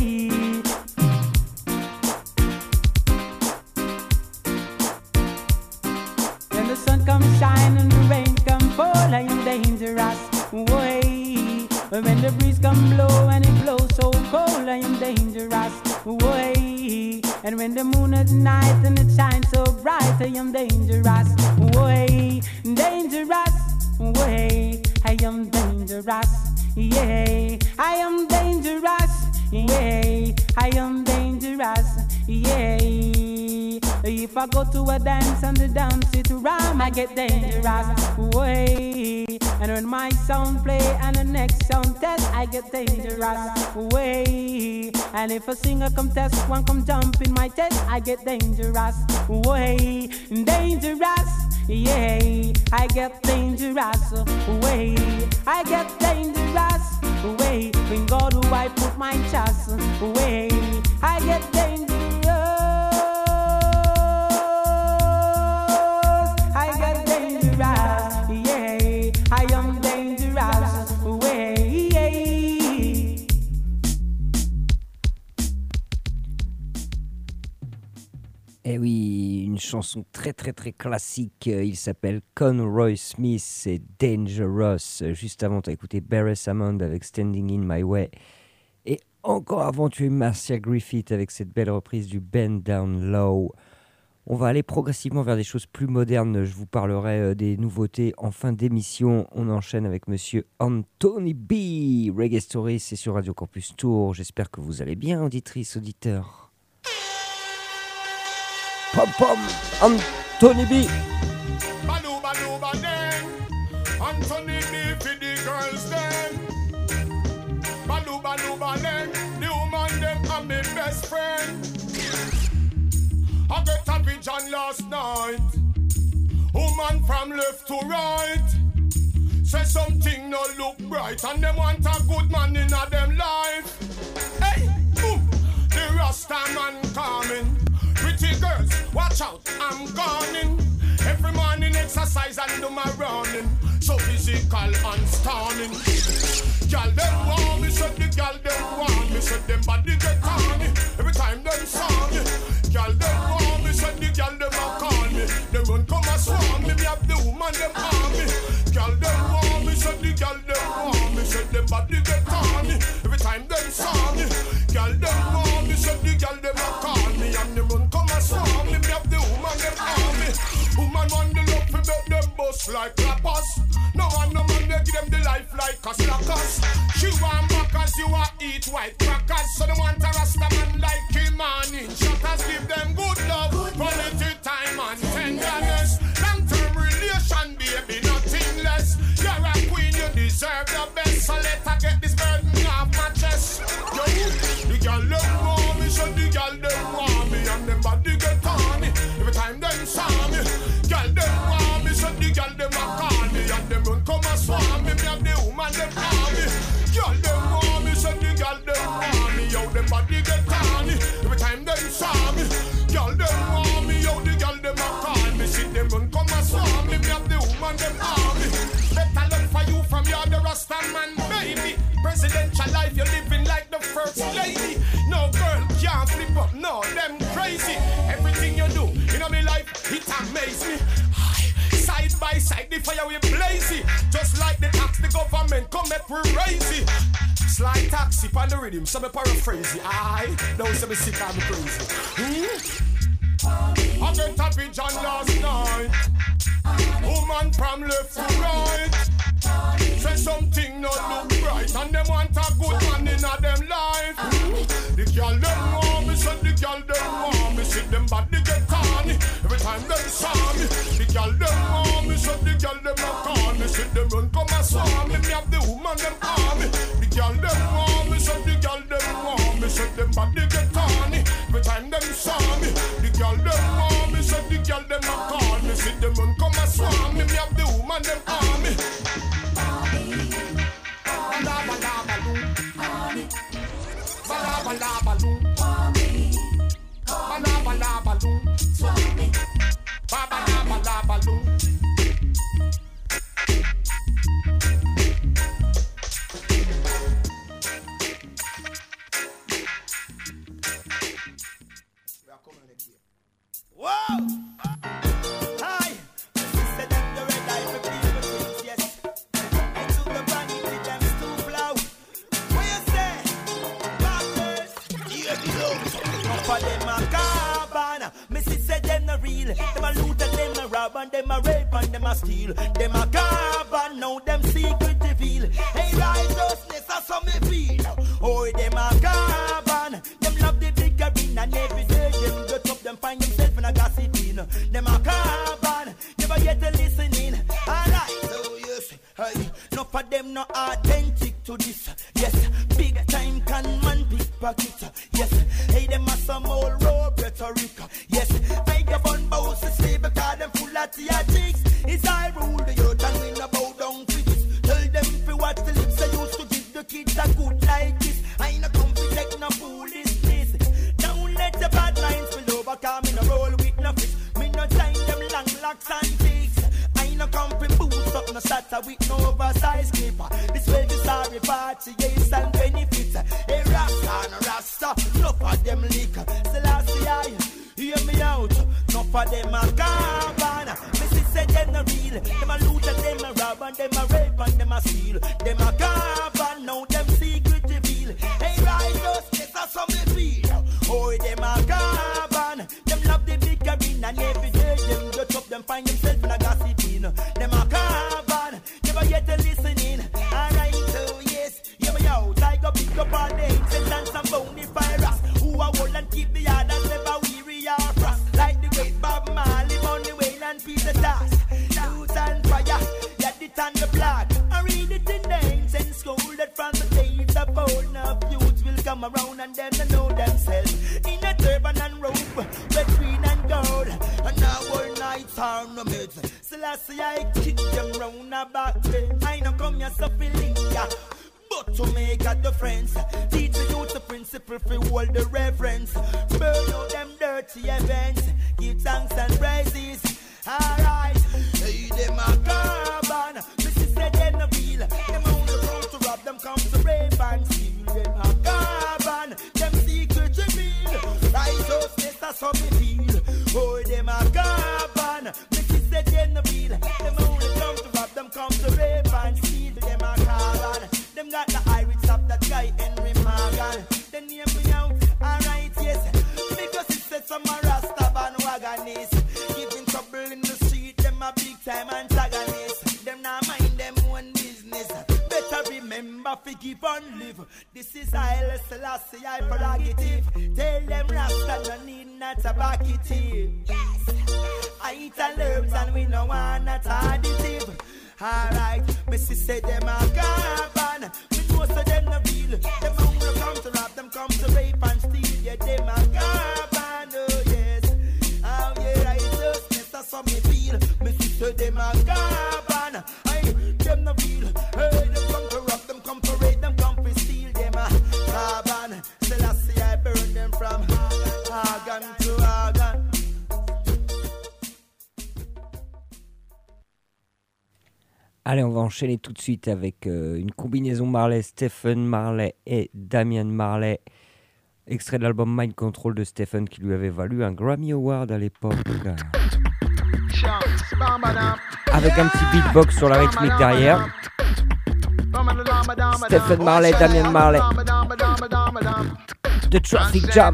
When the sun comes shine and the rain come fall, I am dangerous, way. When the breeze come blow and it blows so cold, I am dangerous, way. And when the moon at night and it shines so bright, I am dangerous, way. Dangerous, way. I am dangerous, yeah. I am dangerous, yeah. I am dangerous, yeah. If I go to a dance and the dance it rhyme, I get dangerous, way. And when my sound play and the next sound test, I get dangerous, way. And if a singer come test, one come jump in my test, I get dangerous, way. Dangerous, yeah. I get dangerous, way. I get dangerous, way. In God do I put my trust, way. I get dangerous. I am dangerous, way. Eh oui, une chanson très très très classique. Il s'appelle Conroy Smith et Dangerous. Juste avant, tu as écouté Barry Hammond avec Standing in My Way. Et encore avant, tu as eu Marcia Griffith avec cette belle reprise du Bend Down Low. On va aller progressivement vers des choses plus modernes. Je vous parlerai des nouveautés en fin d'émission. On enchaîne avec monsieur Anthony B. Reggae Story, c'est sur Radio Campus Tour. J'espère que vous allez bien, auditrices, auditeurs. Pom pom, Anthony B. Baloo, baloo, badeng. Anthony B for the girls then. Baloo, baloo, badeng. The woman them are my best friend. I get a vision last night. Woman from left to right. Say something no look bright. And them want a good man in a them life. Hey, boom. The Rasta man coming. Pretty girls, watch out, I'm coming. Every morning exercise and do my running. So physical and stunning. Girl them want me, so the girl them want me. So them body get on me. Every time them saw me. Girl them want me, so the girl them a call me. Them run come and swarm me, me have the woman them on me. Girl them want me, so the girl them want me. So them body get on me. Every time them saw me. Girl them want me, so the girl them a call me. And them run come and swarm me, me have the woman them on me. them on the love to make them bust like clappers. No man they give them the life like a slackers. She want back as you a eat white crackers. So they want a rasta man like him and in shutters. Give them good love, quality time and tenderness. Long-term relation, baby, nothing less. You're a queen, you deserve the best. So let her get this burden off my chest. Yo, the girl them want me, so the girl them want me, and them body get on me every time them saw me. Girl them want me, so the girl them a call me, and them run come and swarm me. Me and the woman them call me. Girl them want me, so the girl them want me. Yo, them body get on me every time them saw me. Girl them want me, yo, the girl them a call me. See them run come and swarm me. Me and the woman them call me. Better look for you from your the Rasta man, baby. Presidential life, you're living like the first lady. No girl can't flip up, no, them crazy. Everything you do, you know me life, it amaze me. Side by side, the fire we blazy. Just like the tax, the government come make we raise it. Slide taxi on the rhythm, so me paraphrase it. Aye, don't say me sick, I'm crazy. I get a vision last night. Woman from left to right. Say something not look right, and them want a good man in a them life. The girl them want me, so the girl them want me. See them body get on every time them saw me. The girl them want me, so the girl them a call me. See them run come and swarm me. Me have the woman them call me. The girl them want me, so the girl them want me. See them body get on every time them saw me. The girl them want me, so the girl them a call me. See them run come and swarm me. Me have the woman them call me. And them a rape and them a steal. Them a carbon, now them secret reveal. Hey, righteousness, that's how me feel. Oh, them a carbon. Them love the big arena, and every day them get up, them find themselves in a gossiping. Them a carbon, never yet to listening. Alright, so yes, hey, enough of them not authentic to this. Yes, big time can man pickpocket. Yes, hey, them a some old road rhetoric. Yes, I give on bows to sleep because them full of theatrics. It's I rule the earth and we no bow down for this. Tell them if you watch the lips I used to give the kids a good like this. I no come to take no foolishness. Don't let the bad lines spill over, cause me no roll with no fish. Me no time them long locks and jigs. I no come to boost up no shatter with no oversized clipper. This way the sorry party, yes and benefits. Hey Rasta and Rasta, enough of them liquor. Selassie I, hear me out. Enough of them a carbon. Me say them no real. Them a loot and them a rob and them a rape and them a steal. Them a carbon, now them secret reveal. Hey righteousness, that's how me feel. Oh, them a carbon. Them love the big arena and every day them get up, them find themselves in a gossiping. Them a carbon, never yet to listening. Alright, so yes, hear me out. I go pick up all the ancients and some bony virus. Who a hold and keep the others never weary or frost. Like the great Bob Marley, Money Wayne and Peter Tosh. Youth and fire, get it on the block. I read it in the ancient school that from the days of old. Now youths will come around and them they know themselves. In a turban and robe, red, green and gold. And now all nights are no mids. Selassie I kick them round the back then. I know come here so feeling ya. But to make a difference, teach the youth the principle for hold the reverence. Burn out them dirty events, give thanks and praises. Alright, hey, them a carbon. Mrs. said they no feel. Them only come to rob, them come to rape and steal. Them a carbon, them secret reveal. Righteousness, that's how me feel. Oh, them a carbon. Mrs. said they no feel. Them only come to rob, them come to rape and steal. Them a carbon. Them got the Irish of that guy Henry Morgan. They name me out, alright, yes. Because it said some Rasta bandwagon is giving trouble a big time antagonist. Them not mind them own business. Better remember fi keep on live. This is Haile Selassie, I prerogative. Tell them Rasta no need not a back it here. Yes, I eat all herbs and we no want not additive. Alright, me say them a carbon. Me know so them no real. Them hungry come to rob, them come to rape and steal. Yeah, them a carbon, oh yes. Oh yeah, righteousness, that's how me feel. Me say them a carbon. Aye, them no real. Hey, them come to rob, them come to rape, them come to steal. Them a carbon. Selassie, I burn them from organ to organ. Allez, on va enchaîner tout de suite avec une combinaison Marley, Stephen Marley et Damian Marley, extrait de l'album Mind Control de Stephen qui lui avait valu un Grammy Award à l'époque. Avec un petit beatbox sur la rythmique derrière. Stephen Marley, Damian Marley. The Traffic Jam.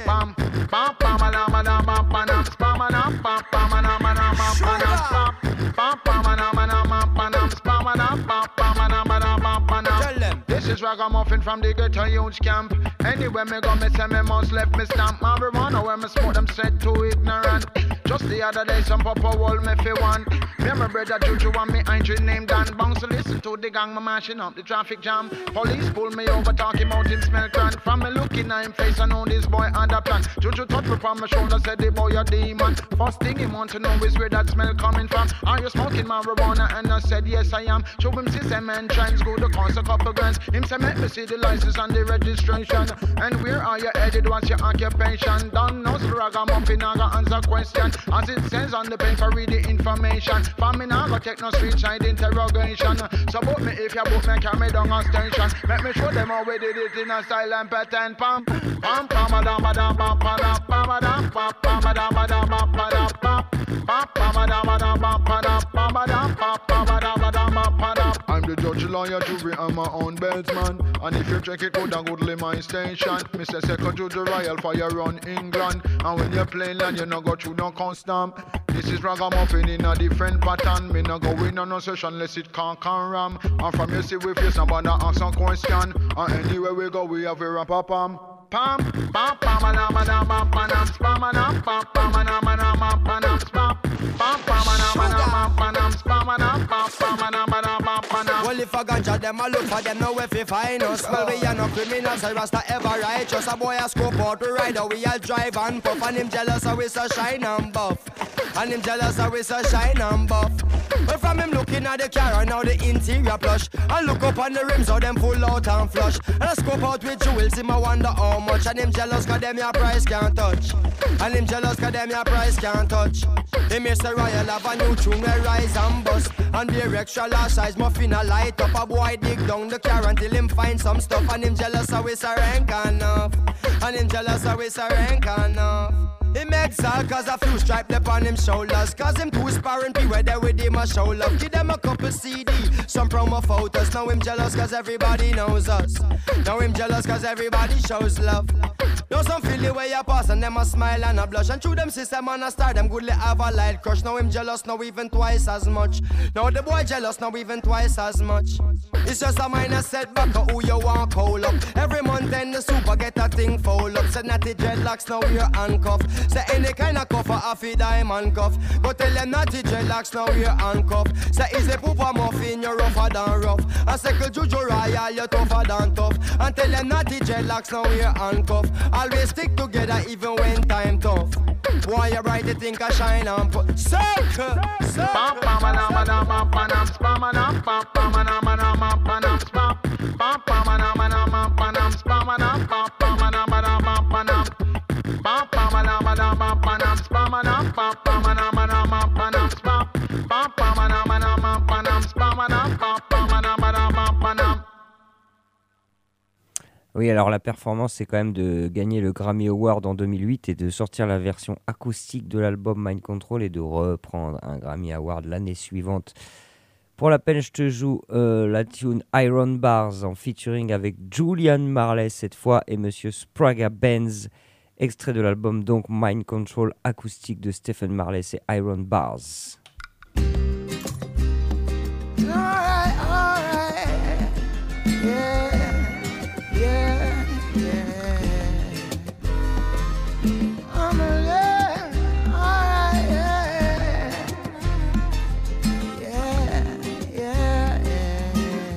This is ragamuffin from the ghetto youth camp. Anywhere me go, me say me must left me stamp. Marijuana where me smoke them said too ignorant. Just the other day some papa hold me fi one. Me and my brother Juju and me Andrew named Dan Bounce to listen to the gang, me mashing up the traffic jam. Police pull me over talking about him smell cran. From me looking at him face I know this boy had a plan. Juju touch me from my shoulder said the boy a demon. First thing he want to know is where that smell coming from. Are you smoking marijuana? And I said yes I am. Show him system and trends go to cost a couple grants. Him say make me see the license and the registration. And where are you headed? What's your occupation? Don't know so ragamuffin I got answer question. As it says on the paper read the information. For me now go take no street side interrogation. So book me if you book me carry down a station. Make me show them how we did it in a style and pattern. Pam pam pam pam pam pam pam pam pam pam I'm the judge, lawyer, jury, and my own beltsman. And if you check it good and goodly my station, Mr. Second Judge Royal Fire run England. And when you play land, you no go through no custom. This is ragamuffin in a different pattern. Me no go in on no session unless it can ram. And from you see we face somebody ask some question. And anywhere we go we have a rap a pam. Pam pam pam pam pam pam pam pam pam well, if a ganja them a look for them, now if you find us. Well, we are no criminals, a rasta ever righteous. A boy a scope out to ride, we all drive and puff. And him jealous, so we so shine and buff. And him jealous, so we so shine and buff. But from him looking at the car, now the interior plush. And look up on the rims, how them full out and flush. And I scope out with jewels, him I wonder how much. And him jealous, cause them your price can't touch. And him jealous, cause them your price can't touch. Him Mr. Royal have a new tune, where rise and bust. And the extra large size muffin a light up. A boy dig down the car until him find some stuff. And him jealous, so we so rank enough. And him jealous, so we so rank enough. He makes all cause a few stripes up on him shoulders. Cause him too sparring be where they with him a show love. Give them a couple CD, some promo photos. Now him jealous cause everybody knows us. Now him jealous cause everybody shows love. Know some feel the way you pass and them a smile and a blush. And through them system and a star them goodly have a light crush. Now him jealous now even twice as much. Now the boy jealous now even twice as much. It's just a minor setback of who you want call up. Every month then the super get a thing fold up. Said natty dreadlocks now we're handcuffed. Say any kind of cuff a fi diamond cuff. Go tell them natty dreadlocks now we're handcuffed. Say is a pooper muffin you're rougher than rough. And say Juju Royal you're tougher than tough. And tell them natty dreadlocks now we're handcuffed. Always stick together even when time tough. Why you bright you think I shine and put circle. Oui, alors la performance, c'est quand même de gagner le Grammy Award en 2008 et de sortir la version acoustique de l'album Mind Control et de reprendre un Grammy Award l'année suivante. Pour la peine, je te joue la tune Iron Bars en featuring avec Julian Marley cette fois et Monsieur Sprague Benz, extrait de l'album donc Mind Control acoustique de Stephen Marley, c'est Iron Bars. Alright, alright. Yeah, yeah, yeah. I'm a yeah, alright, yeah. Yeah, yeah, yeah.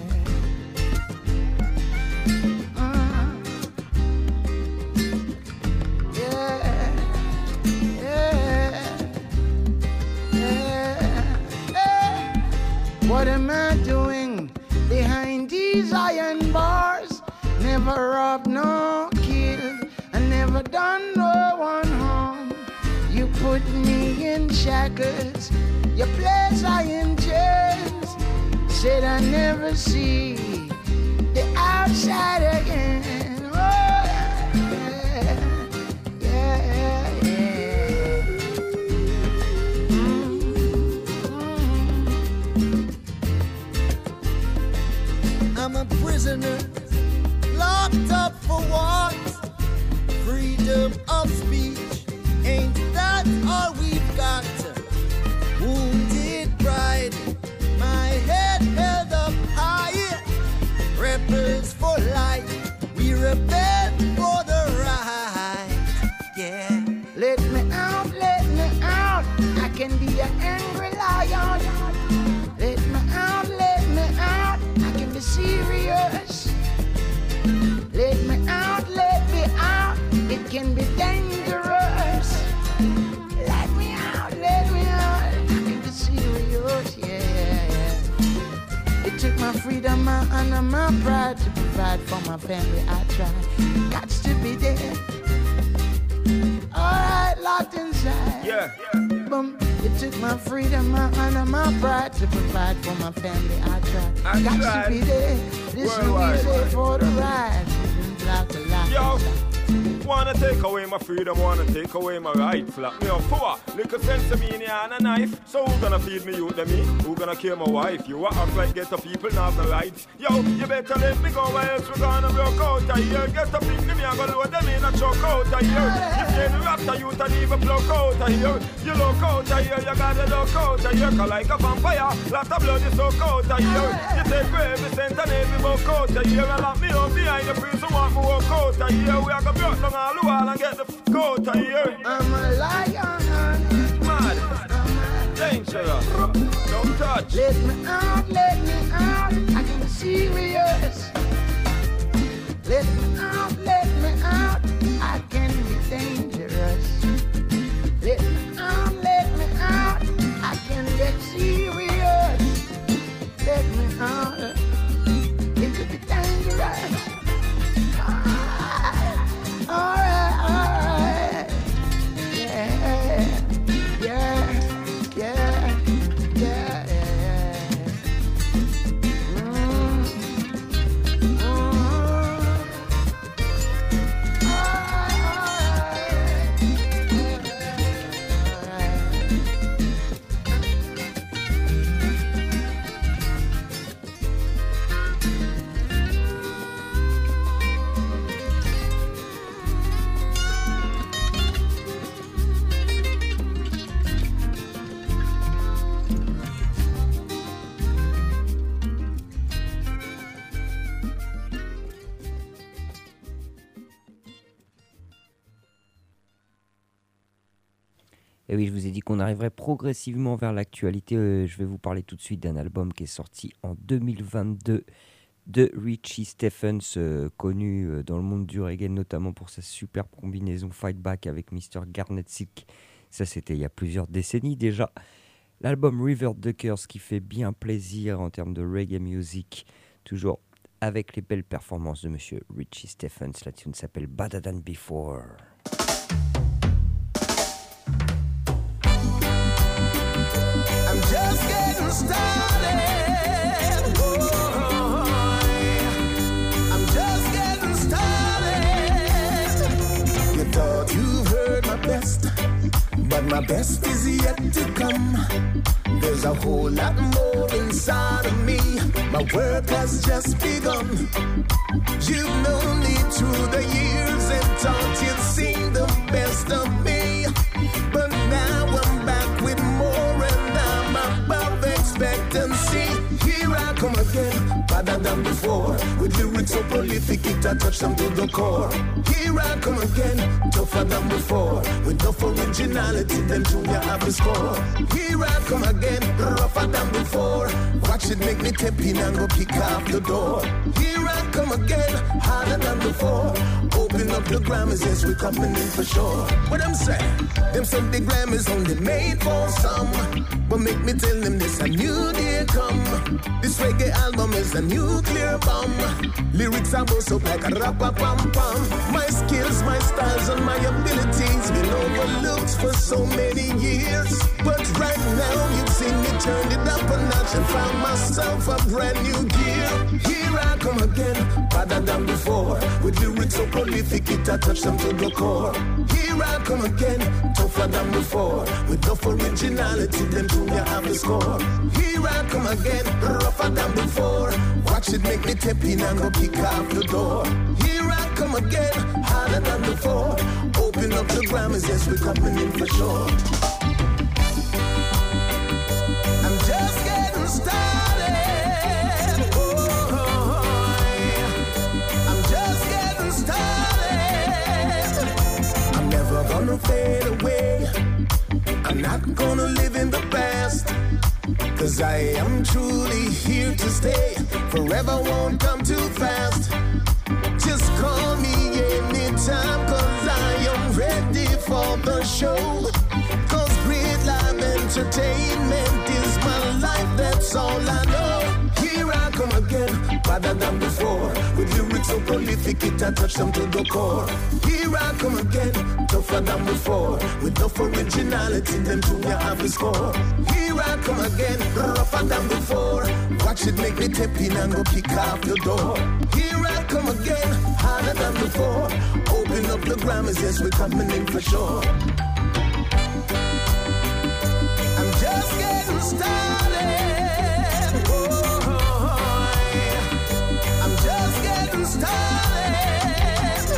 What am I doing behind these iron bars? Never robbed, no killed, I never done no one harm. You put me in shackles, you place I in chains. Said I never see the outside again. Oh, yeah, yeah, yeah. I'm a prisoner, locked up for what? Freedom of speech, ain't that all we've got? Wounded pride, my head held up high. Rebels for life, we rebel for the right. Yeah. Let me out, I can be an angry lion. Let me out, I can be serious. Let me out, it can be dangerous. Let me out, I can be serious, yeah. It took my freedom, my honor, my pride to provide for my family. I tried, got to be there. Alright, locked inside. Yeah. Boom. It took my freedom, my honor, my pride to provide for my family. I tried. Got to be there. This will be there for the ride. Yo, wanna take away my freedom, wanna take away my rights. Lock me up for little sense of me in the hand and knife. So who gonna feed me youth and me? Who gonna kill my wife? You act like get the people not the rights. Yo, you better let me go or else we gonna broke out of here. Get the people me and gonna load them in and choke out of here. You say the raptor youth and even block out of here. You look out of here, you gotta look out of here. Cause like a vampire, lot of blood is soak out of here. You take every cent and every buck out of here. And lock me up behind the prison, want me walk out of here. We are gonna broke down all the wall and get the f*** out of here. I'm a lion. Mad. Dangerous. Don't touch. Let me out, I can be serious. Let me out, I can be dangerous. Let me out, I can get serious. Let me out, it could be dangerous. Alright, yeah, yeah, yeah, yeah, yeah. Et oui, je vous ai dit qu'on arriverait progressivement vers l'actualité. Je vais vous parler tout de suite d'un album qui est sorti en 2022 de Richie Stephens, connu dans le monde du reggae, notamment pour sa superbe combinaison Fight Back avec Mr. Garnet Silk. Ça, c'était il y a plusieurs décennies déjà. L'album River Duckers qui fait bien plaisir en termes de reggae music, toujours avec les belles performances de monsieur Richie Stephens. La tune s'appelle Better Than Before. I'm just getting started. Oh, I'm just getting started. You thought you heard my best, but my best is yet to come. There's a whole lot more inside of me. My work has just begun. You've known me through the years and thought you'd seen the best of me. But now I'm back with more and I'm about come again, better than before. With lyrics so prolific, it a touch them to the core. Here I come again, tougher than before. With enough originality, then Junior have a score. Here I come again, rougher than before. Watch it make me tap in and go kick off the door. Here I come again, harder than before. Open up the Grammys, yes, we coming in for sure. What I'm saying, them say the Grammys only made for some. But make me tell them this, a new day come. This reggae album is a nuclear bomb. Lyrics are both up like a rap-a-pam-pam. My skills, my styles, and my abilities been overlooked for so many years. But right now, you've seen me turn it up a notch and found myself a brand new gear. Here I come again, better than before. With lyrics so prolific, it a touch them to the core. Here I come again, tougher than before. With enough originality, then Junior have the score. Here I come again, rougher than before. Watch it make me tap in and go kick off the door. Here I come again, harder than before. Open up the Grammys, yes, we're coming in for sure. I'm just getting started. Oh, I'm just getting started. I'm never gonna fade away. I'm not gonna live in the past. Cause I am truly here to stay. Forever won't come too fast. Just call me anytime, cause I am ready for the show. Cause great live entertainment is my life, that's all I know. Here I come again, better than before. With lyrics so prolific, it a touch them to the core. Here I come again, tougher than before. With enough originality, then Junior have the score. Here I come again, rougher than before. Watch it make me tap in and go kick off the door. Here I come again, harder than before. Open up the Grammys, yes, we're coming in for sure. I'm just getting started. Oh, I'm just getting started.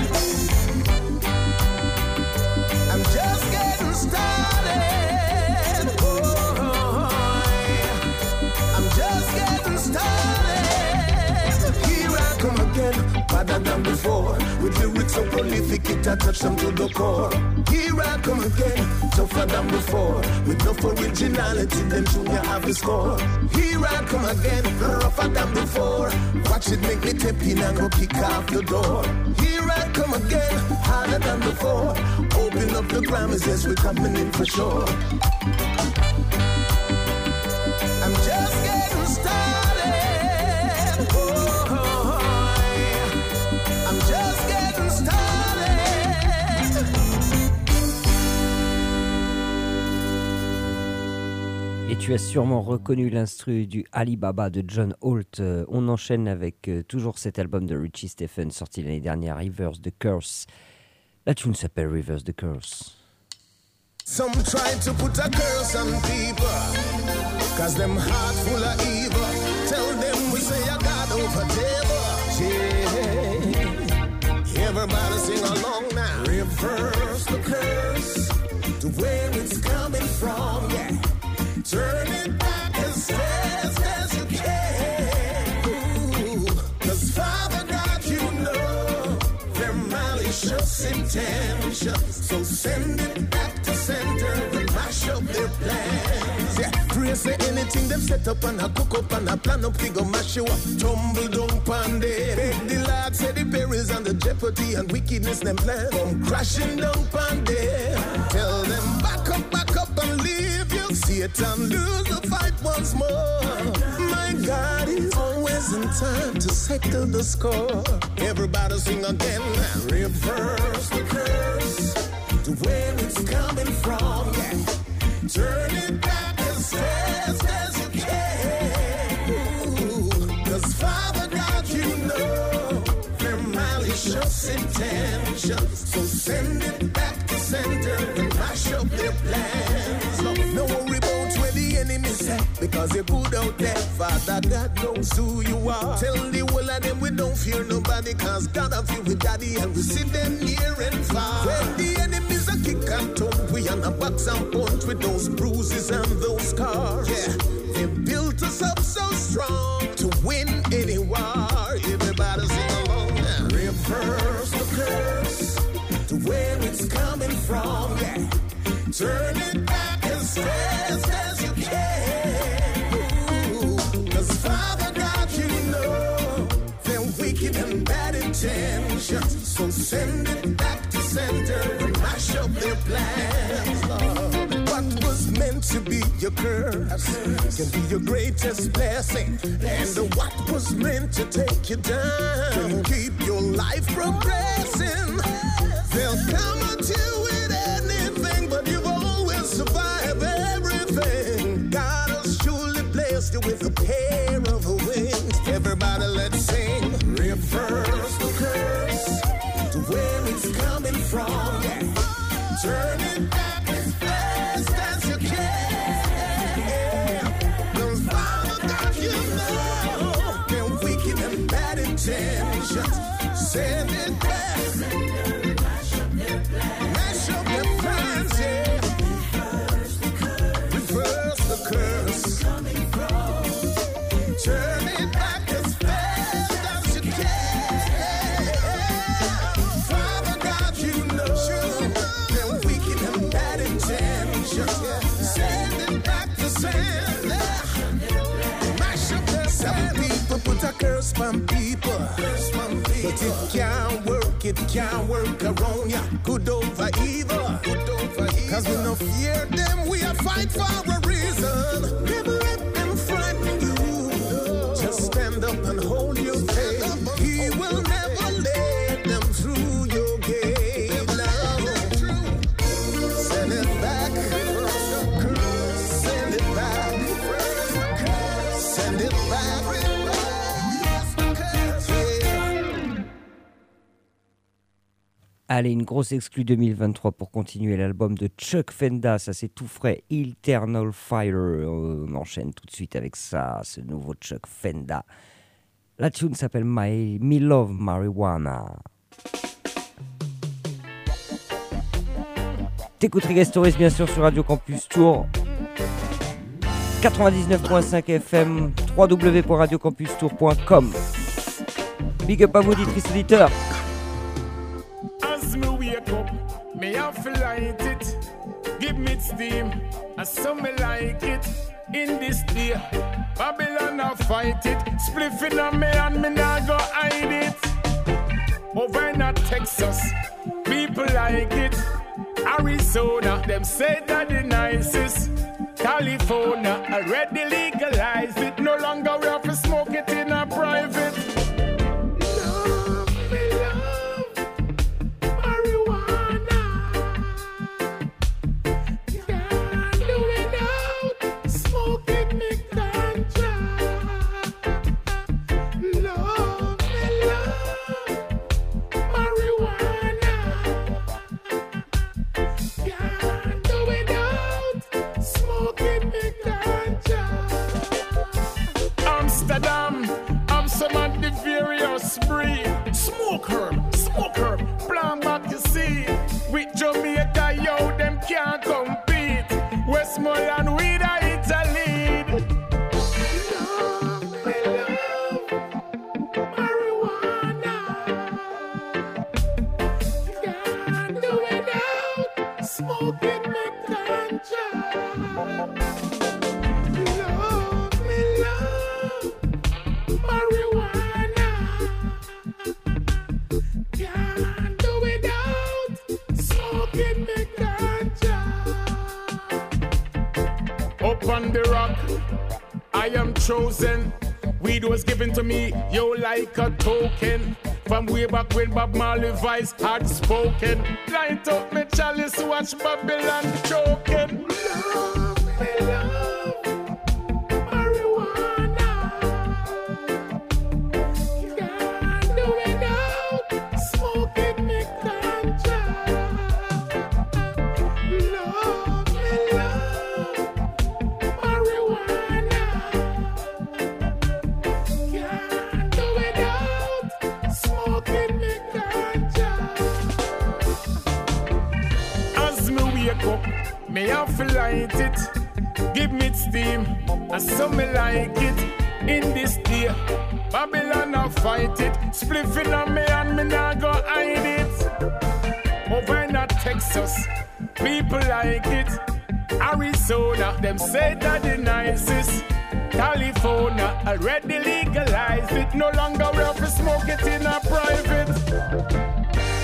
I'm just getting started. Oh, I'm just getting started. Here I come again, better than before. With lyrics so prolific, it a touch them to the core. Here I come again, tougher than before. With enough originality, then Junior have the score. Here I come again, rougher than before. Watch it make me tap in and go kick off the door. Here I come again, harder than before. Open up the Grammys, yes, we're coming in for sure. I'm just getting started. Oh, I'm just getting started. Et tu as sûrement reconnu l'instru du Alibaba de John Holt. On enchaîne avec toujours cet album de Richie Stephens sorti l'année dernière, Reverse the Curse. La tune s'appelle Reverse the Curse. Some try to put a curse on people, cause them heart full of evil. Tell them we say a God over table. Yeah. Everybody sing along now. Reverse the curse to where it's coming from, yeah. Turn it back as fast as you can. Ooh, cause Father God, you know their malicious intentions. So send it back to center and mash up their plans. Yeah, pray say anything they've set up and a cook up and a plan up, we go mash you up. Tumble down pandey. Beg the Lord say the perils and the jeopardy and wickedness them plan. Come crashing down pandey. Tell them back up and leave you. Satan lose the fight once more. My God is always in time to settle the score. Everybody sing again. Reverse the curse to where it's coming from. Yeah. Turn it back as fast as you can. Ooh, cause Father God, you know their malicious intentions. So send it back to center and mash up their plans. No worry about where the enemy set, because you're good out there. Father God knows who you are. Tell the whole of them we don't fear nobody, cause God have you with daddy and we see them near and far. When the enemies are kick and tongue, we on a box and punch with those bruises and those scars. Yeah, they built us up so strong to win Turn it back as fast as you can. Ooh, 'cause Father God, you know they're wicked and bad intentions. So send it back to center and mash up their plans, Lord. What was meant to be your curse can be your greatest blessing. And what was meant to take you down can keep your life progressing. They'll come at you with anything, but you've always survived everything. God has surely blessed you with a pair of wings. Everybody, let's sing. Reverse the curse to where it's coming from. Turn it back as fast as you can. 'Cause Father God, you know they're wicked and bad intentions. Send it back. Mash up their plans, yeah. Reverse the curse. Turn it back as fast as you can. Father God, you know they're wicked and bad intentions. Send it back to sender. Mash up their plans. Some people put a curse on people. But it can't work around ya. Good over evil. 'Cause we no fear them, we a fight for a reason. Never let them frighten you. Just stand up and hold your faith. He will never let them through your gate. Send it back. Send it back. Send it back. Allez, une grosse exclue 2023 pour continuer l'album de Chuck Fenda, ça c'est tout frais, Eternal Fire. On enchaîne tout de suite avec ça, ce nouveau Chuck Fenda. La tune s'appelle Me Love Marijuana. T'écoutes Reggae Stories bien sûr sur Radio Campus Tour 99.5 FM, www.radiocampustour.com. Big up à vous, auditrices auditeurs. As me wake up, me have to light it. Give me steam, and so me like it. In this day, Babylon I fight it. Spliffing on me and me not go hide it. Over in Texas, people like it. Arizona, them say that the nicest. California, already legalized it. No longer we have to smoke it in a private. Smoke herb, plant back you see. With Jamaica, yo, them can't compete. Westmoreland, we the Italy. Love, me love, marijuana. Can't do without smoking me ganja. Love, me love, marijuana. Up on the rock, I am chosen. Weed was given to me, yo, like a token. From way back when Bob Marley voice had spoken. Light up me chalice, watch Babylon choking. Love, me love, marijuana. Can't do without smoking me ganja. Love, me love, marijuana. Can't do without smoking me ganja. As me wake up, me have to light it. Give me steam, and so me like it. In this day, Babylon I fight it. Spliffing on me and me not go hide it. Over in Texas, People like it. Arizona, them say that the nicest. California already legalized it. No longer we have to smoke it in a private.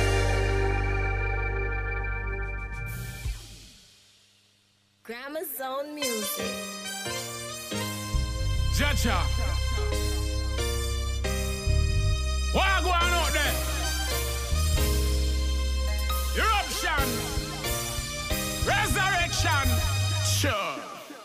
Grammazone music. Jaja. What going on there? Eruption. Resurrection. Sure.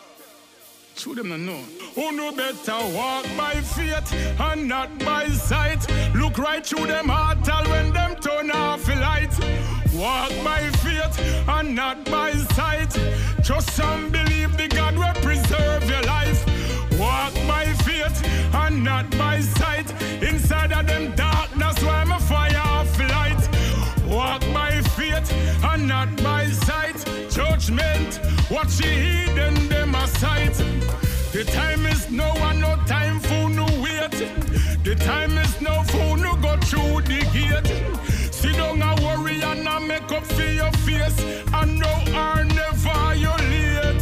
Show them no know. Who no better walk by faith and not by sight. Look right through them heart all when them turn off the light. Walk by faith and not by sight. Trust and believe the God will preserve your life. Walk by faith and not by sight. Inside of them darkness where my fire off light. Walk by faith and not by sight. Judgment, watch the heathen them a sight. The time is no one, no time for no wait. The time is no for no go through the gate. Sit down and worry and a make up for your face. And no are never violate.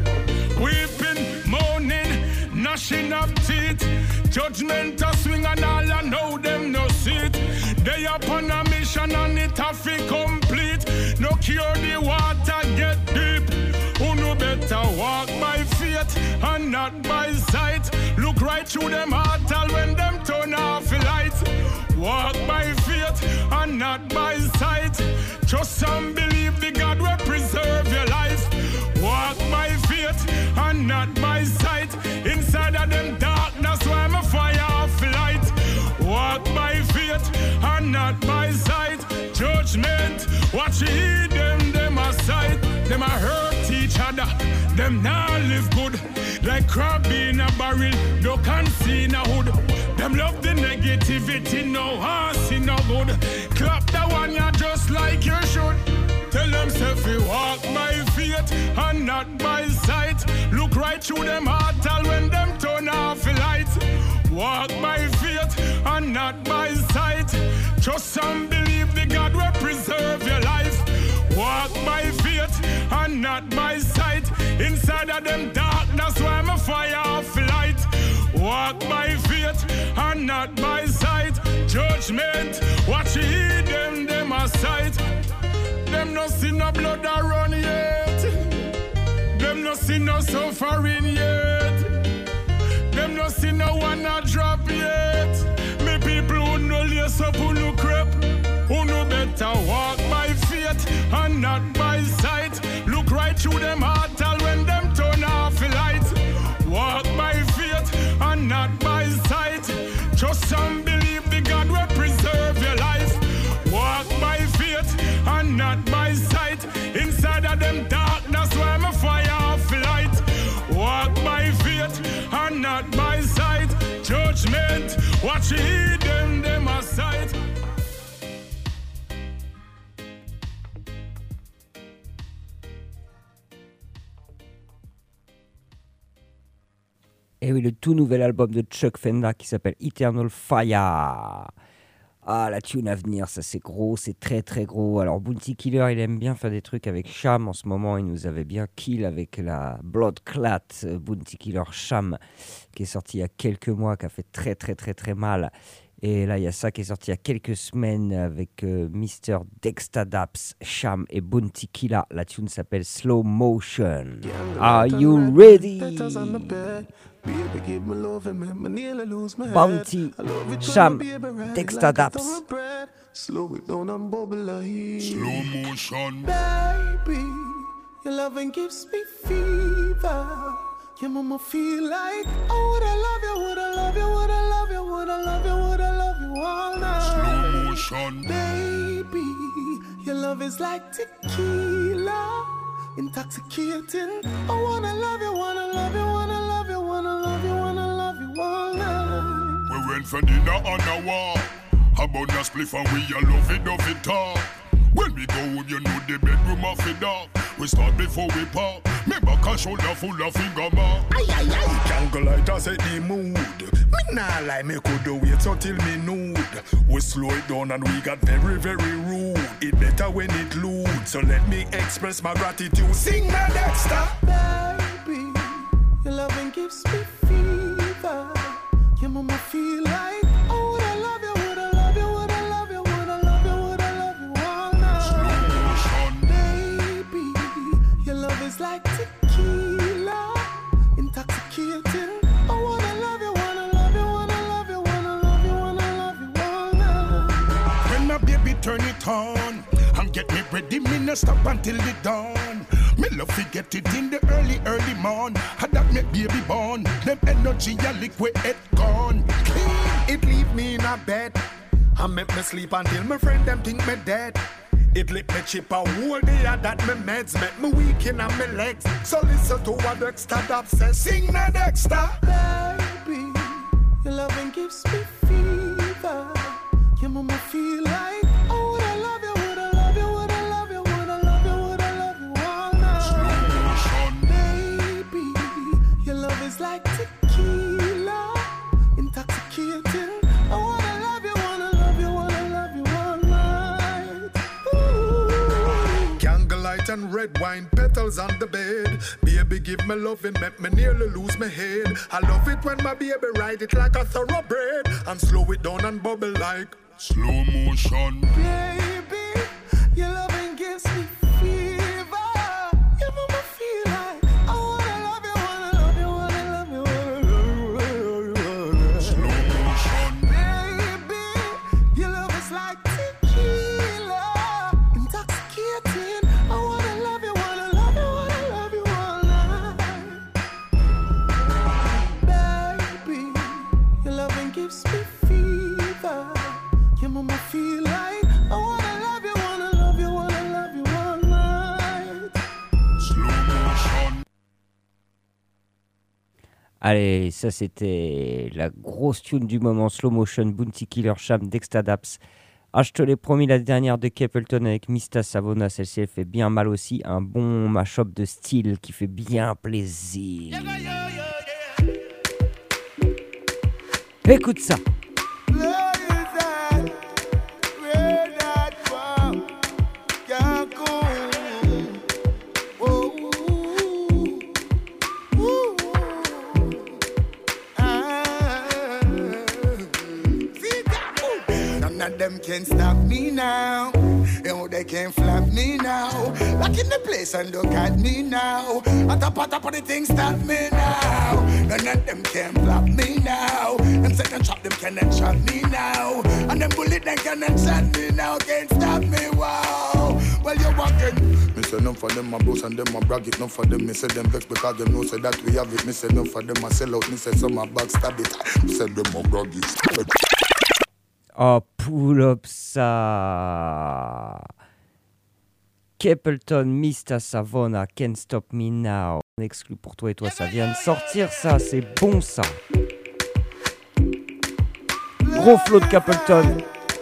Weeping, moaning, gnashing of teeth. Judgment a swing and all I know them no sit. They upon a mission and it have to complete. No cure the water get deep. Who no better walk by faith and not by sight. Look right through them heart all when them turn off the light. Walk by faith and not by sight. Trust and believe the God will preserve your life. Walk by faith and not by sight. Inside of them darkness where my fire off light. Walk by faith and not by sight. Judgment, watch ye them a sight. Them a hurt each other, them now live good. Like crab in a barrel, no can see in a hood. Them love the negativity, no hearts in no good. Clap that one ya just like you should. Tell them self you walk by faith and not by sight. Look right through them heart all when them turn off the lights. Walk by faith and not by sight. Trust and believe the God will preserve your life. Walk by faith and not by sight. Inside of them darkness where my fire off light. Walk by faith and not by sight. Judgment, watch ye them a sight. Them no see no blood a run yet. Them no see no suffering yet. Them no see no one a drop yet. Me people who no lace up who no crep. Who no better walk by faith and not by sight. Look right through them heart all when them turn off the light. Walk by faith and not by sight. Trust and believe the God will preserve your life. Walk by faith and not by sight. Inside of them darkness where my fire off light. Walk by faith and not by sight. Judgment, watch ye them a sight. Et oui, le tout nouvel album de Chuck Fenda qui s'appelle Eternal Fire. Ah, la tune à venir, ça c'est gros, c'est très très gros. Alors Bounty Killer, il aime bien faire des trucs avec Sham. En ce moment, il nous avait bien kill avec la Blood Clat Bounty Killer Sham, qui est sorti il y a quelques mois, qui a fait très très très très mal. Et là, il y a ça qui est sorti il y a quelques semaines avec Mr. Dexta Daps, Sham et Bounty Killer. La tune s'appelle Slow Motion. Are you ready? Bounty, Sham, Dexta Daps. Slow it down and bubble like Slow motion. Baby, your loving gives me fever. Your mama feel like, oh, would I love you, would I love you, would I love you, would I love you, would I love you all night. Slow motion. Baby, your love is like tequila, intoxicating. I wanna love you, wanna love you, wanna love you, wanna love you, wanna love you all night. We went for dinner on the wall. How about the spliff and we all love it all. When we go home, you know the bedroom of it up. We start before we pop. Me back and shoulder full of finger mark. Aye, aye, aye. Jungle light, I set the mood. Me Nah, like me could wait until me nude. We slow it down and we got very, very rude. It better when it lewd. So let me express my gratitude. Sing my Dexter. Baby, your loving gives me fever. Your mama feel like, oh, would I love you, would I love you, would I love you, would I love you, would I love you all night. Baby, your love is like tequila, intoxicating. Oh, would I love you, wanna love you, wanna love you, wanna love you, wanna love you all night. When my baby turn it on and get me ready, me no stop until the dawn. Me love to get it in the early morn. Had that make baby born. Them energy a liquid it gone. Clean. It leave me in a bed and make me sleep until my friend them think me dead. It lit me chip a whole day that me meds make me weak in my legs. So listen to what Dexter Dab says. Sing na Dexter. Baby, your loving gives me fever. Your mama feel like, oh, would I love you, would I love you, would I love you, would I love you, would I love you all night. Baby, your love is like tequila, intoxicating. Oh, would I love you, wanna love you, wanna love you all night. Ooh. Candlelight and red wine petals on the bed. Baby, give me love and make me nearly lose my head. I love it when my baby ride it like a thoroughbred and slow it down and bubble like slow motion. Baby, your loving gives me fever. Your mama feel like, oh, wanna love you, wanna love you, wanna love you, wanna love you. Slow motion. Baby, your love is like tequila, intoxicating. I wanna love you, wanna love you, wanna love you all night. Baby, your loving gives me fever. Your mama feel like, I wanna love you, wanna love you, wanna love you all night. Slow motion. Allez, ça c'était la grosse tune du moment, Slow Motion, Bounty Killer, Sham, Dexter Daps. Ah, je te l'ai promis, la dernière de Capleton avec Mista Savona, celle-ci elle fait bien mal aussi, un bon mash-up de style qui fait bien plaisir. Écoute ça. Them can't stop me now. You know they can't flap me now. Lock in the place and look at me now. At the top of the thing stop me now. None of them can flap me now. Them second chop them cannot chop me now. And them bullet them cannot shot me now. Can't stop me, wow. Well you walking. Me say none for them my boss and them my brag it. None for them me say them vex because them know say that we have it. Me say none for them I sell out. Me say some my back stab it. Me say them my brag it. Oh, pull up ça. Capleton, Mista Savona, Can't Stop Me Now. On exclut pour toi et toi, ça vient de sortir ça, c'est bon ça. Gros flow de Capleton.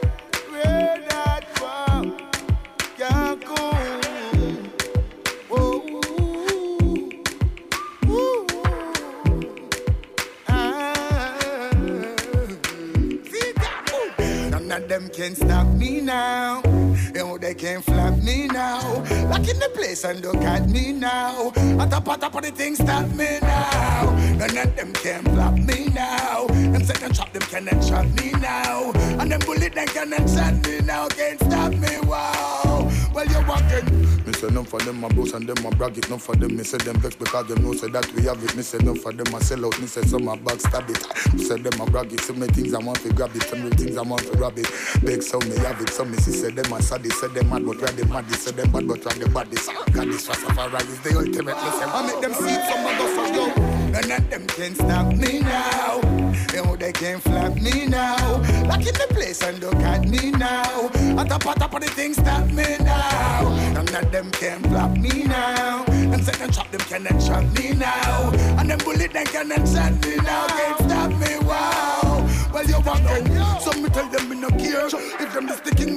Them can't stop me now. You know they can't flap me now. Lock in the place and look at me now. At the top of the thing stop me now. None of them can flap me now. Them second chop them cannot chop me now. And them bullet them cannot shot me now. Can't stop me, wow. Well you walking. Me say none for them my boss and them my brag it. None for them me say them vex because them know say that we have it. Me say none for them I sell out. Me say some my back stab it. Me say them my brag it. So many things I want to grab it. So many things I want to grab it. Big so me have it. So me see say them I sad. Say them mad but where they mad. Say them bad but where they bad. God this Rastafari is the ultimate. Listen, I make them see some of us for you. None of them can stop me now. You know they can't flap me now. Lock in the place and look at me now. At the top of the thing stop me now. None of them can flap me now. Them second chop them cannot chop me now. And them bullet them cannot shot me now. Can't stop me, wow. Well you walking. So me tell them me no care. If them is the king, me say them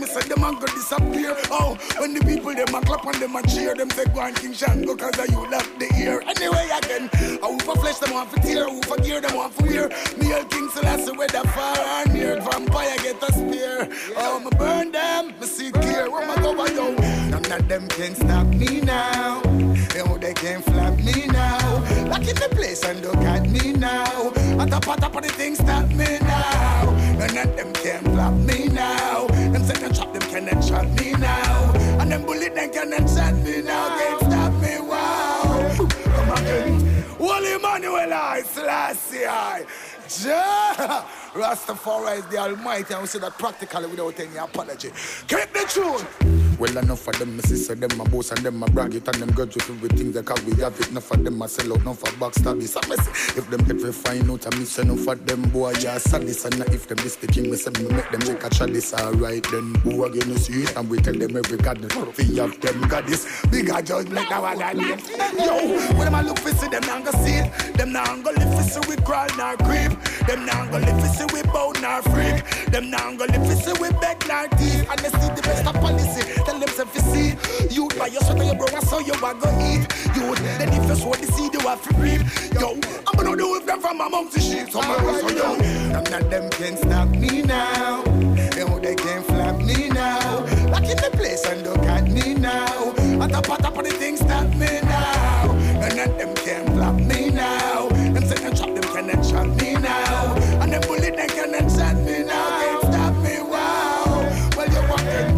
a go disappear. Oh, when the people them a clap and them a cheer, them say go on King Shango cause of you love the ear. Anyway again, who for flesh them want for tear, who for gear them want for wear. Me and King Selassie whether far or near, vampire get a spear. Oh, me burn them, me see clear. Where my go yo? None of them can stop me now. Yo, they can't flap me now. Lock in the place and look at me now. At the pot of the thing stop me now. None of them can flap me now. Them second chop them cannot chop me now. And them bullet them cannot shot me now. Can't stop me, wow. Come again. Holy Emmanuel I, Selassie I. Ja! Rastafari is the Almighty, and we say that practically without any apology. Keep the tune. Well, enough of them, my sister, them, my boss, and them, my brag it, and them grudge with everything they cause we have it. Enough of them, I sell out, enough of backstab it. So, if them ever find out, I miss enough of them, boy, yeah, sadness. And if them this king, me say, me make them make a chalice, alright, then, who again you see it, and we tell them every goddess, we have them goddess, bigger judgment, now I need. Yo, when them I look for see, them not gonna see it, them not gonna live for see we crawl nor creep, them not gonna live for see we bow nor freak, them not gonna live for see we beg nor thief, and they see the best of policy. Tell them if you see, you buy your sweater, your bro, so you are gonna eat. You then if you sow the seed, you have to reap. Yo, I'm gonna do with them from among the sheep. So yo, none of them can stop me now. Yo, they can't flap me now. Lock in the place and look at me now. At the pot of the thing stop me now. None of them can flap me now. Them say them chop them cannot chop me now. And them bullet them cannot shot me now. Can't stop me, wow. Well, you're walking.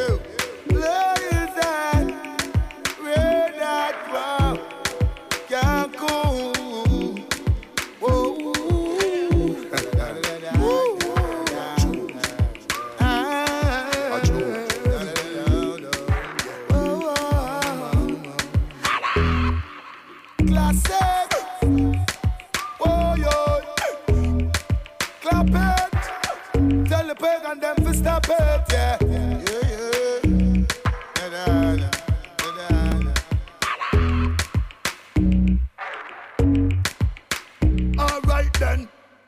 And them for stop it, yeah. All right then.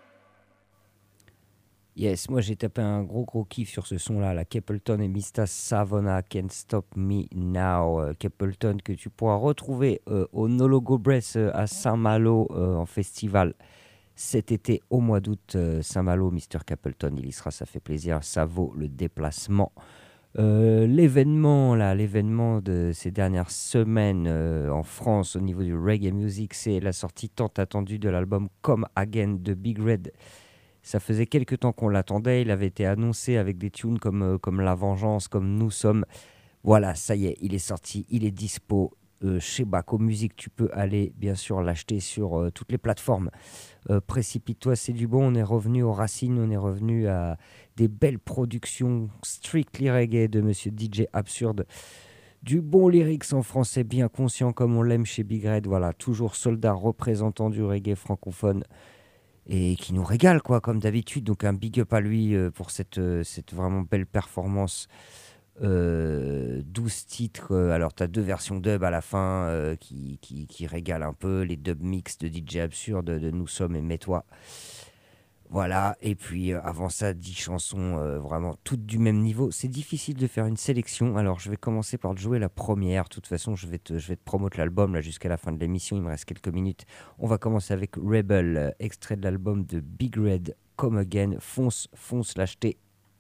Yes, moi j'ai tapé un gros kiff sur ce son-là, la Capleton et Mista Savona, Can't Stop Me Now. Capleton que tu pourras retrouver au No Logo Bress à Saint-Malo en festival cet été au mois d'août. Saint-Malo, Mr. Capleton, il y sera, ça fait plaisir, ça vaut le déplacement. L'événement de ces dernières semaines en France au niveau du reggae music, c'est la sortie tant attendue de l'album Come Again de Big Red. Ça faisait quelques temps qu'on l'attendait, il avait été annoncé avec des tunes comme La Vengeance, comme Nous Sommes. Voilà, ça y est, il est sorti, il est dispo. Chez Baco Music, tu peux aller bien sûr l'acheter sur toutes les plateformes. Précipite-toi, c'est du bon. On est revenu aux racines, on est revenu à des belles productions strictly reggae de monsieur DJ Absurde. Du bon lyrics en français bien conscient comme on l'aime chez Big Red. Voilà, toujours soldat représentant du reggae francophone et qui nous régale quoi, comme d'habitude. Donc un big up à lui pour cette vraiment belle performance. 12 titres, alors tu as 2 versions dub à la fin qui régalent un peu, les dub mix de DJ Absurde de Nous Sommes et Mets-toi, voilà, et puis avant ça 10 chansons vraiment toutes du même niveau. C'est difficile de faire une sélection, alors je vais commencer par te jouer la première. De toute façon je vais te promoter l'album là jusqu'à la fin de l'émission, il me reste quelques minutes. On va commencer avec Rebel, extrait de l'album de Big Red, Come Again. Fonce l'acheter.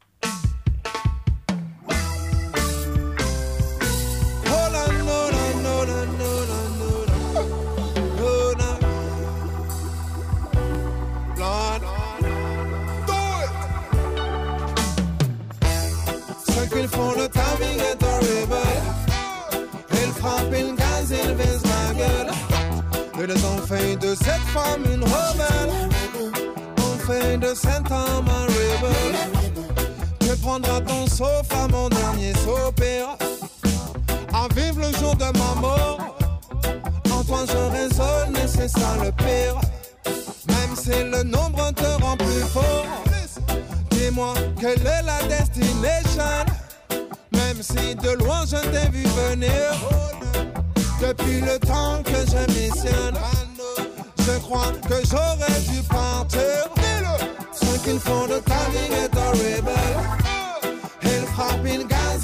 Ils font le timing est horrible. Ils frappent une gaz, ils visent ma gueule. Ils ont fait de cette femme une rebelle. On fait de cet homme un rebelle. Tu prendras ton sofa, mon dernier soupir. À vivre le jour de ma mort. En toi je raisonne et c'est ça le pire. Même si le nombre te rend plus fort. Dis-moi quelle est la destination. Même si de loin je t'ai vu venir. Depuis le temps que je missionne, je crois que j'aurais dû partir. Ce qu'ils font de ta vie est horrible. Ils frappent une gaz.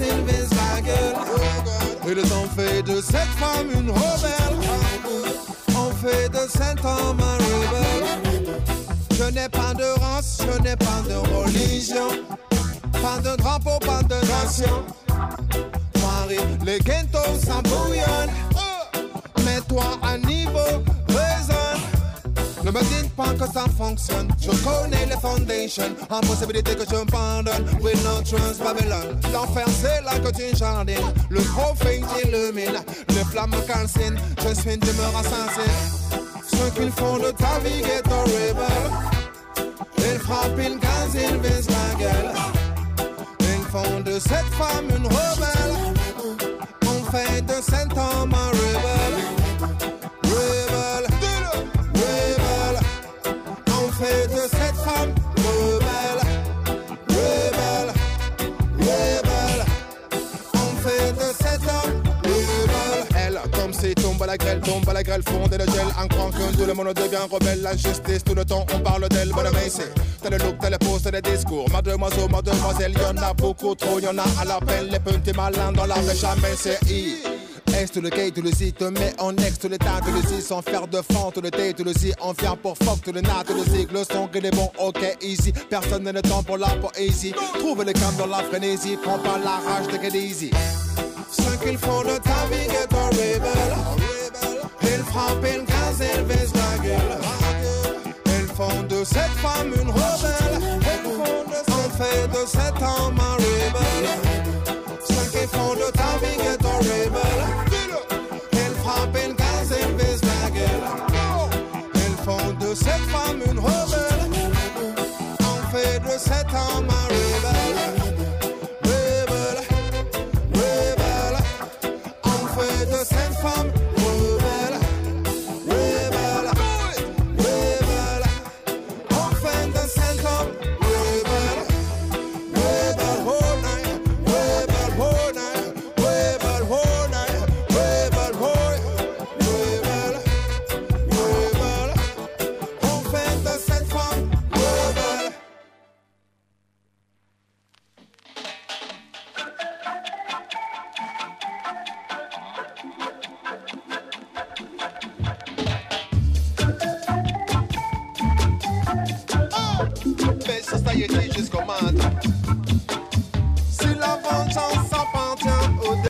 fait de cette femme une rebelle. On fait de cet homme un rebelle. Je n'ai pas de race, je n'ai pas de religion. Pas de drapeau, pas de nation. Paris, les ghettos s'embouillonnent. Mets-toi à niveau, raisonne. Ne me dites pas que ça fonctionne. Je connais les foundations. Impossibilité que je me pardonne. With no trust, Babylone. L'enfer c'est là que tu jardines. Le prophète illumine. Les flammes calcinent. Je suis une demeure assassine. Ce qu'ils font de ta vie est horrible. Ils frappent, ils gazent, ils visent la gueule. Ils font de cette femme une rebelle. On fait de cet homme un rebelle. Rebelle, rebelle. On fait de cette femme rebelle. Rebelle, rebelle. On fait de cet homme rebelle. Elle tombe, c'est tombe à la grêle, fonde et le gel. En croyant que tout le monde devient rebelle. L'injustice, tout le temps on parle d'elle. Bonne c'est t'as le look, t'as le pose, t'as le discours. Mademoiselle, y'en a beaucoup trop. Y'en a à l'appel, les petits malins dans la vraie jamais c'est I. Est tout le quai, tout le si, te mets en ex, tout le tas, tout le si, sans faire de fond, tout le thé, tout le si, on vient pour fuck, tout le nat, tout le zig, le son, que les bons, ok, easy, personne n'a le temps pour la poésie, trouve le calme dans la frénésie, prends pas la rage de get easy. Ce qu'ils font de ta vie est horrible, ils frappent, ils gazent, ils baissent la gueule, ils font de cette femme une rebelle, on fait de cet homme un rebelle. Ce qu'ils font de ta vie est horrible. Ils frappent, ils gazent, ils visent la gueule. Ils font de cette femme une rebelle. On fait de cet homme un rebelle. Rebelle, rebelle. On fait de cette femme rebelle. Rebelle, rebelle. On fait de cet homme rebelle. Rebelle, oh night. Society just command.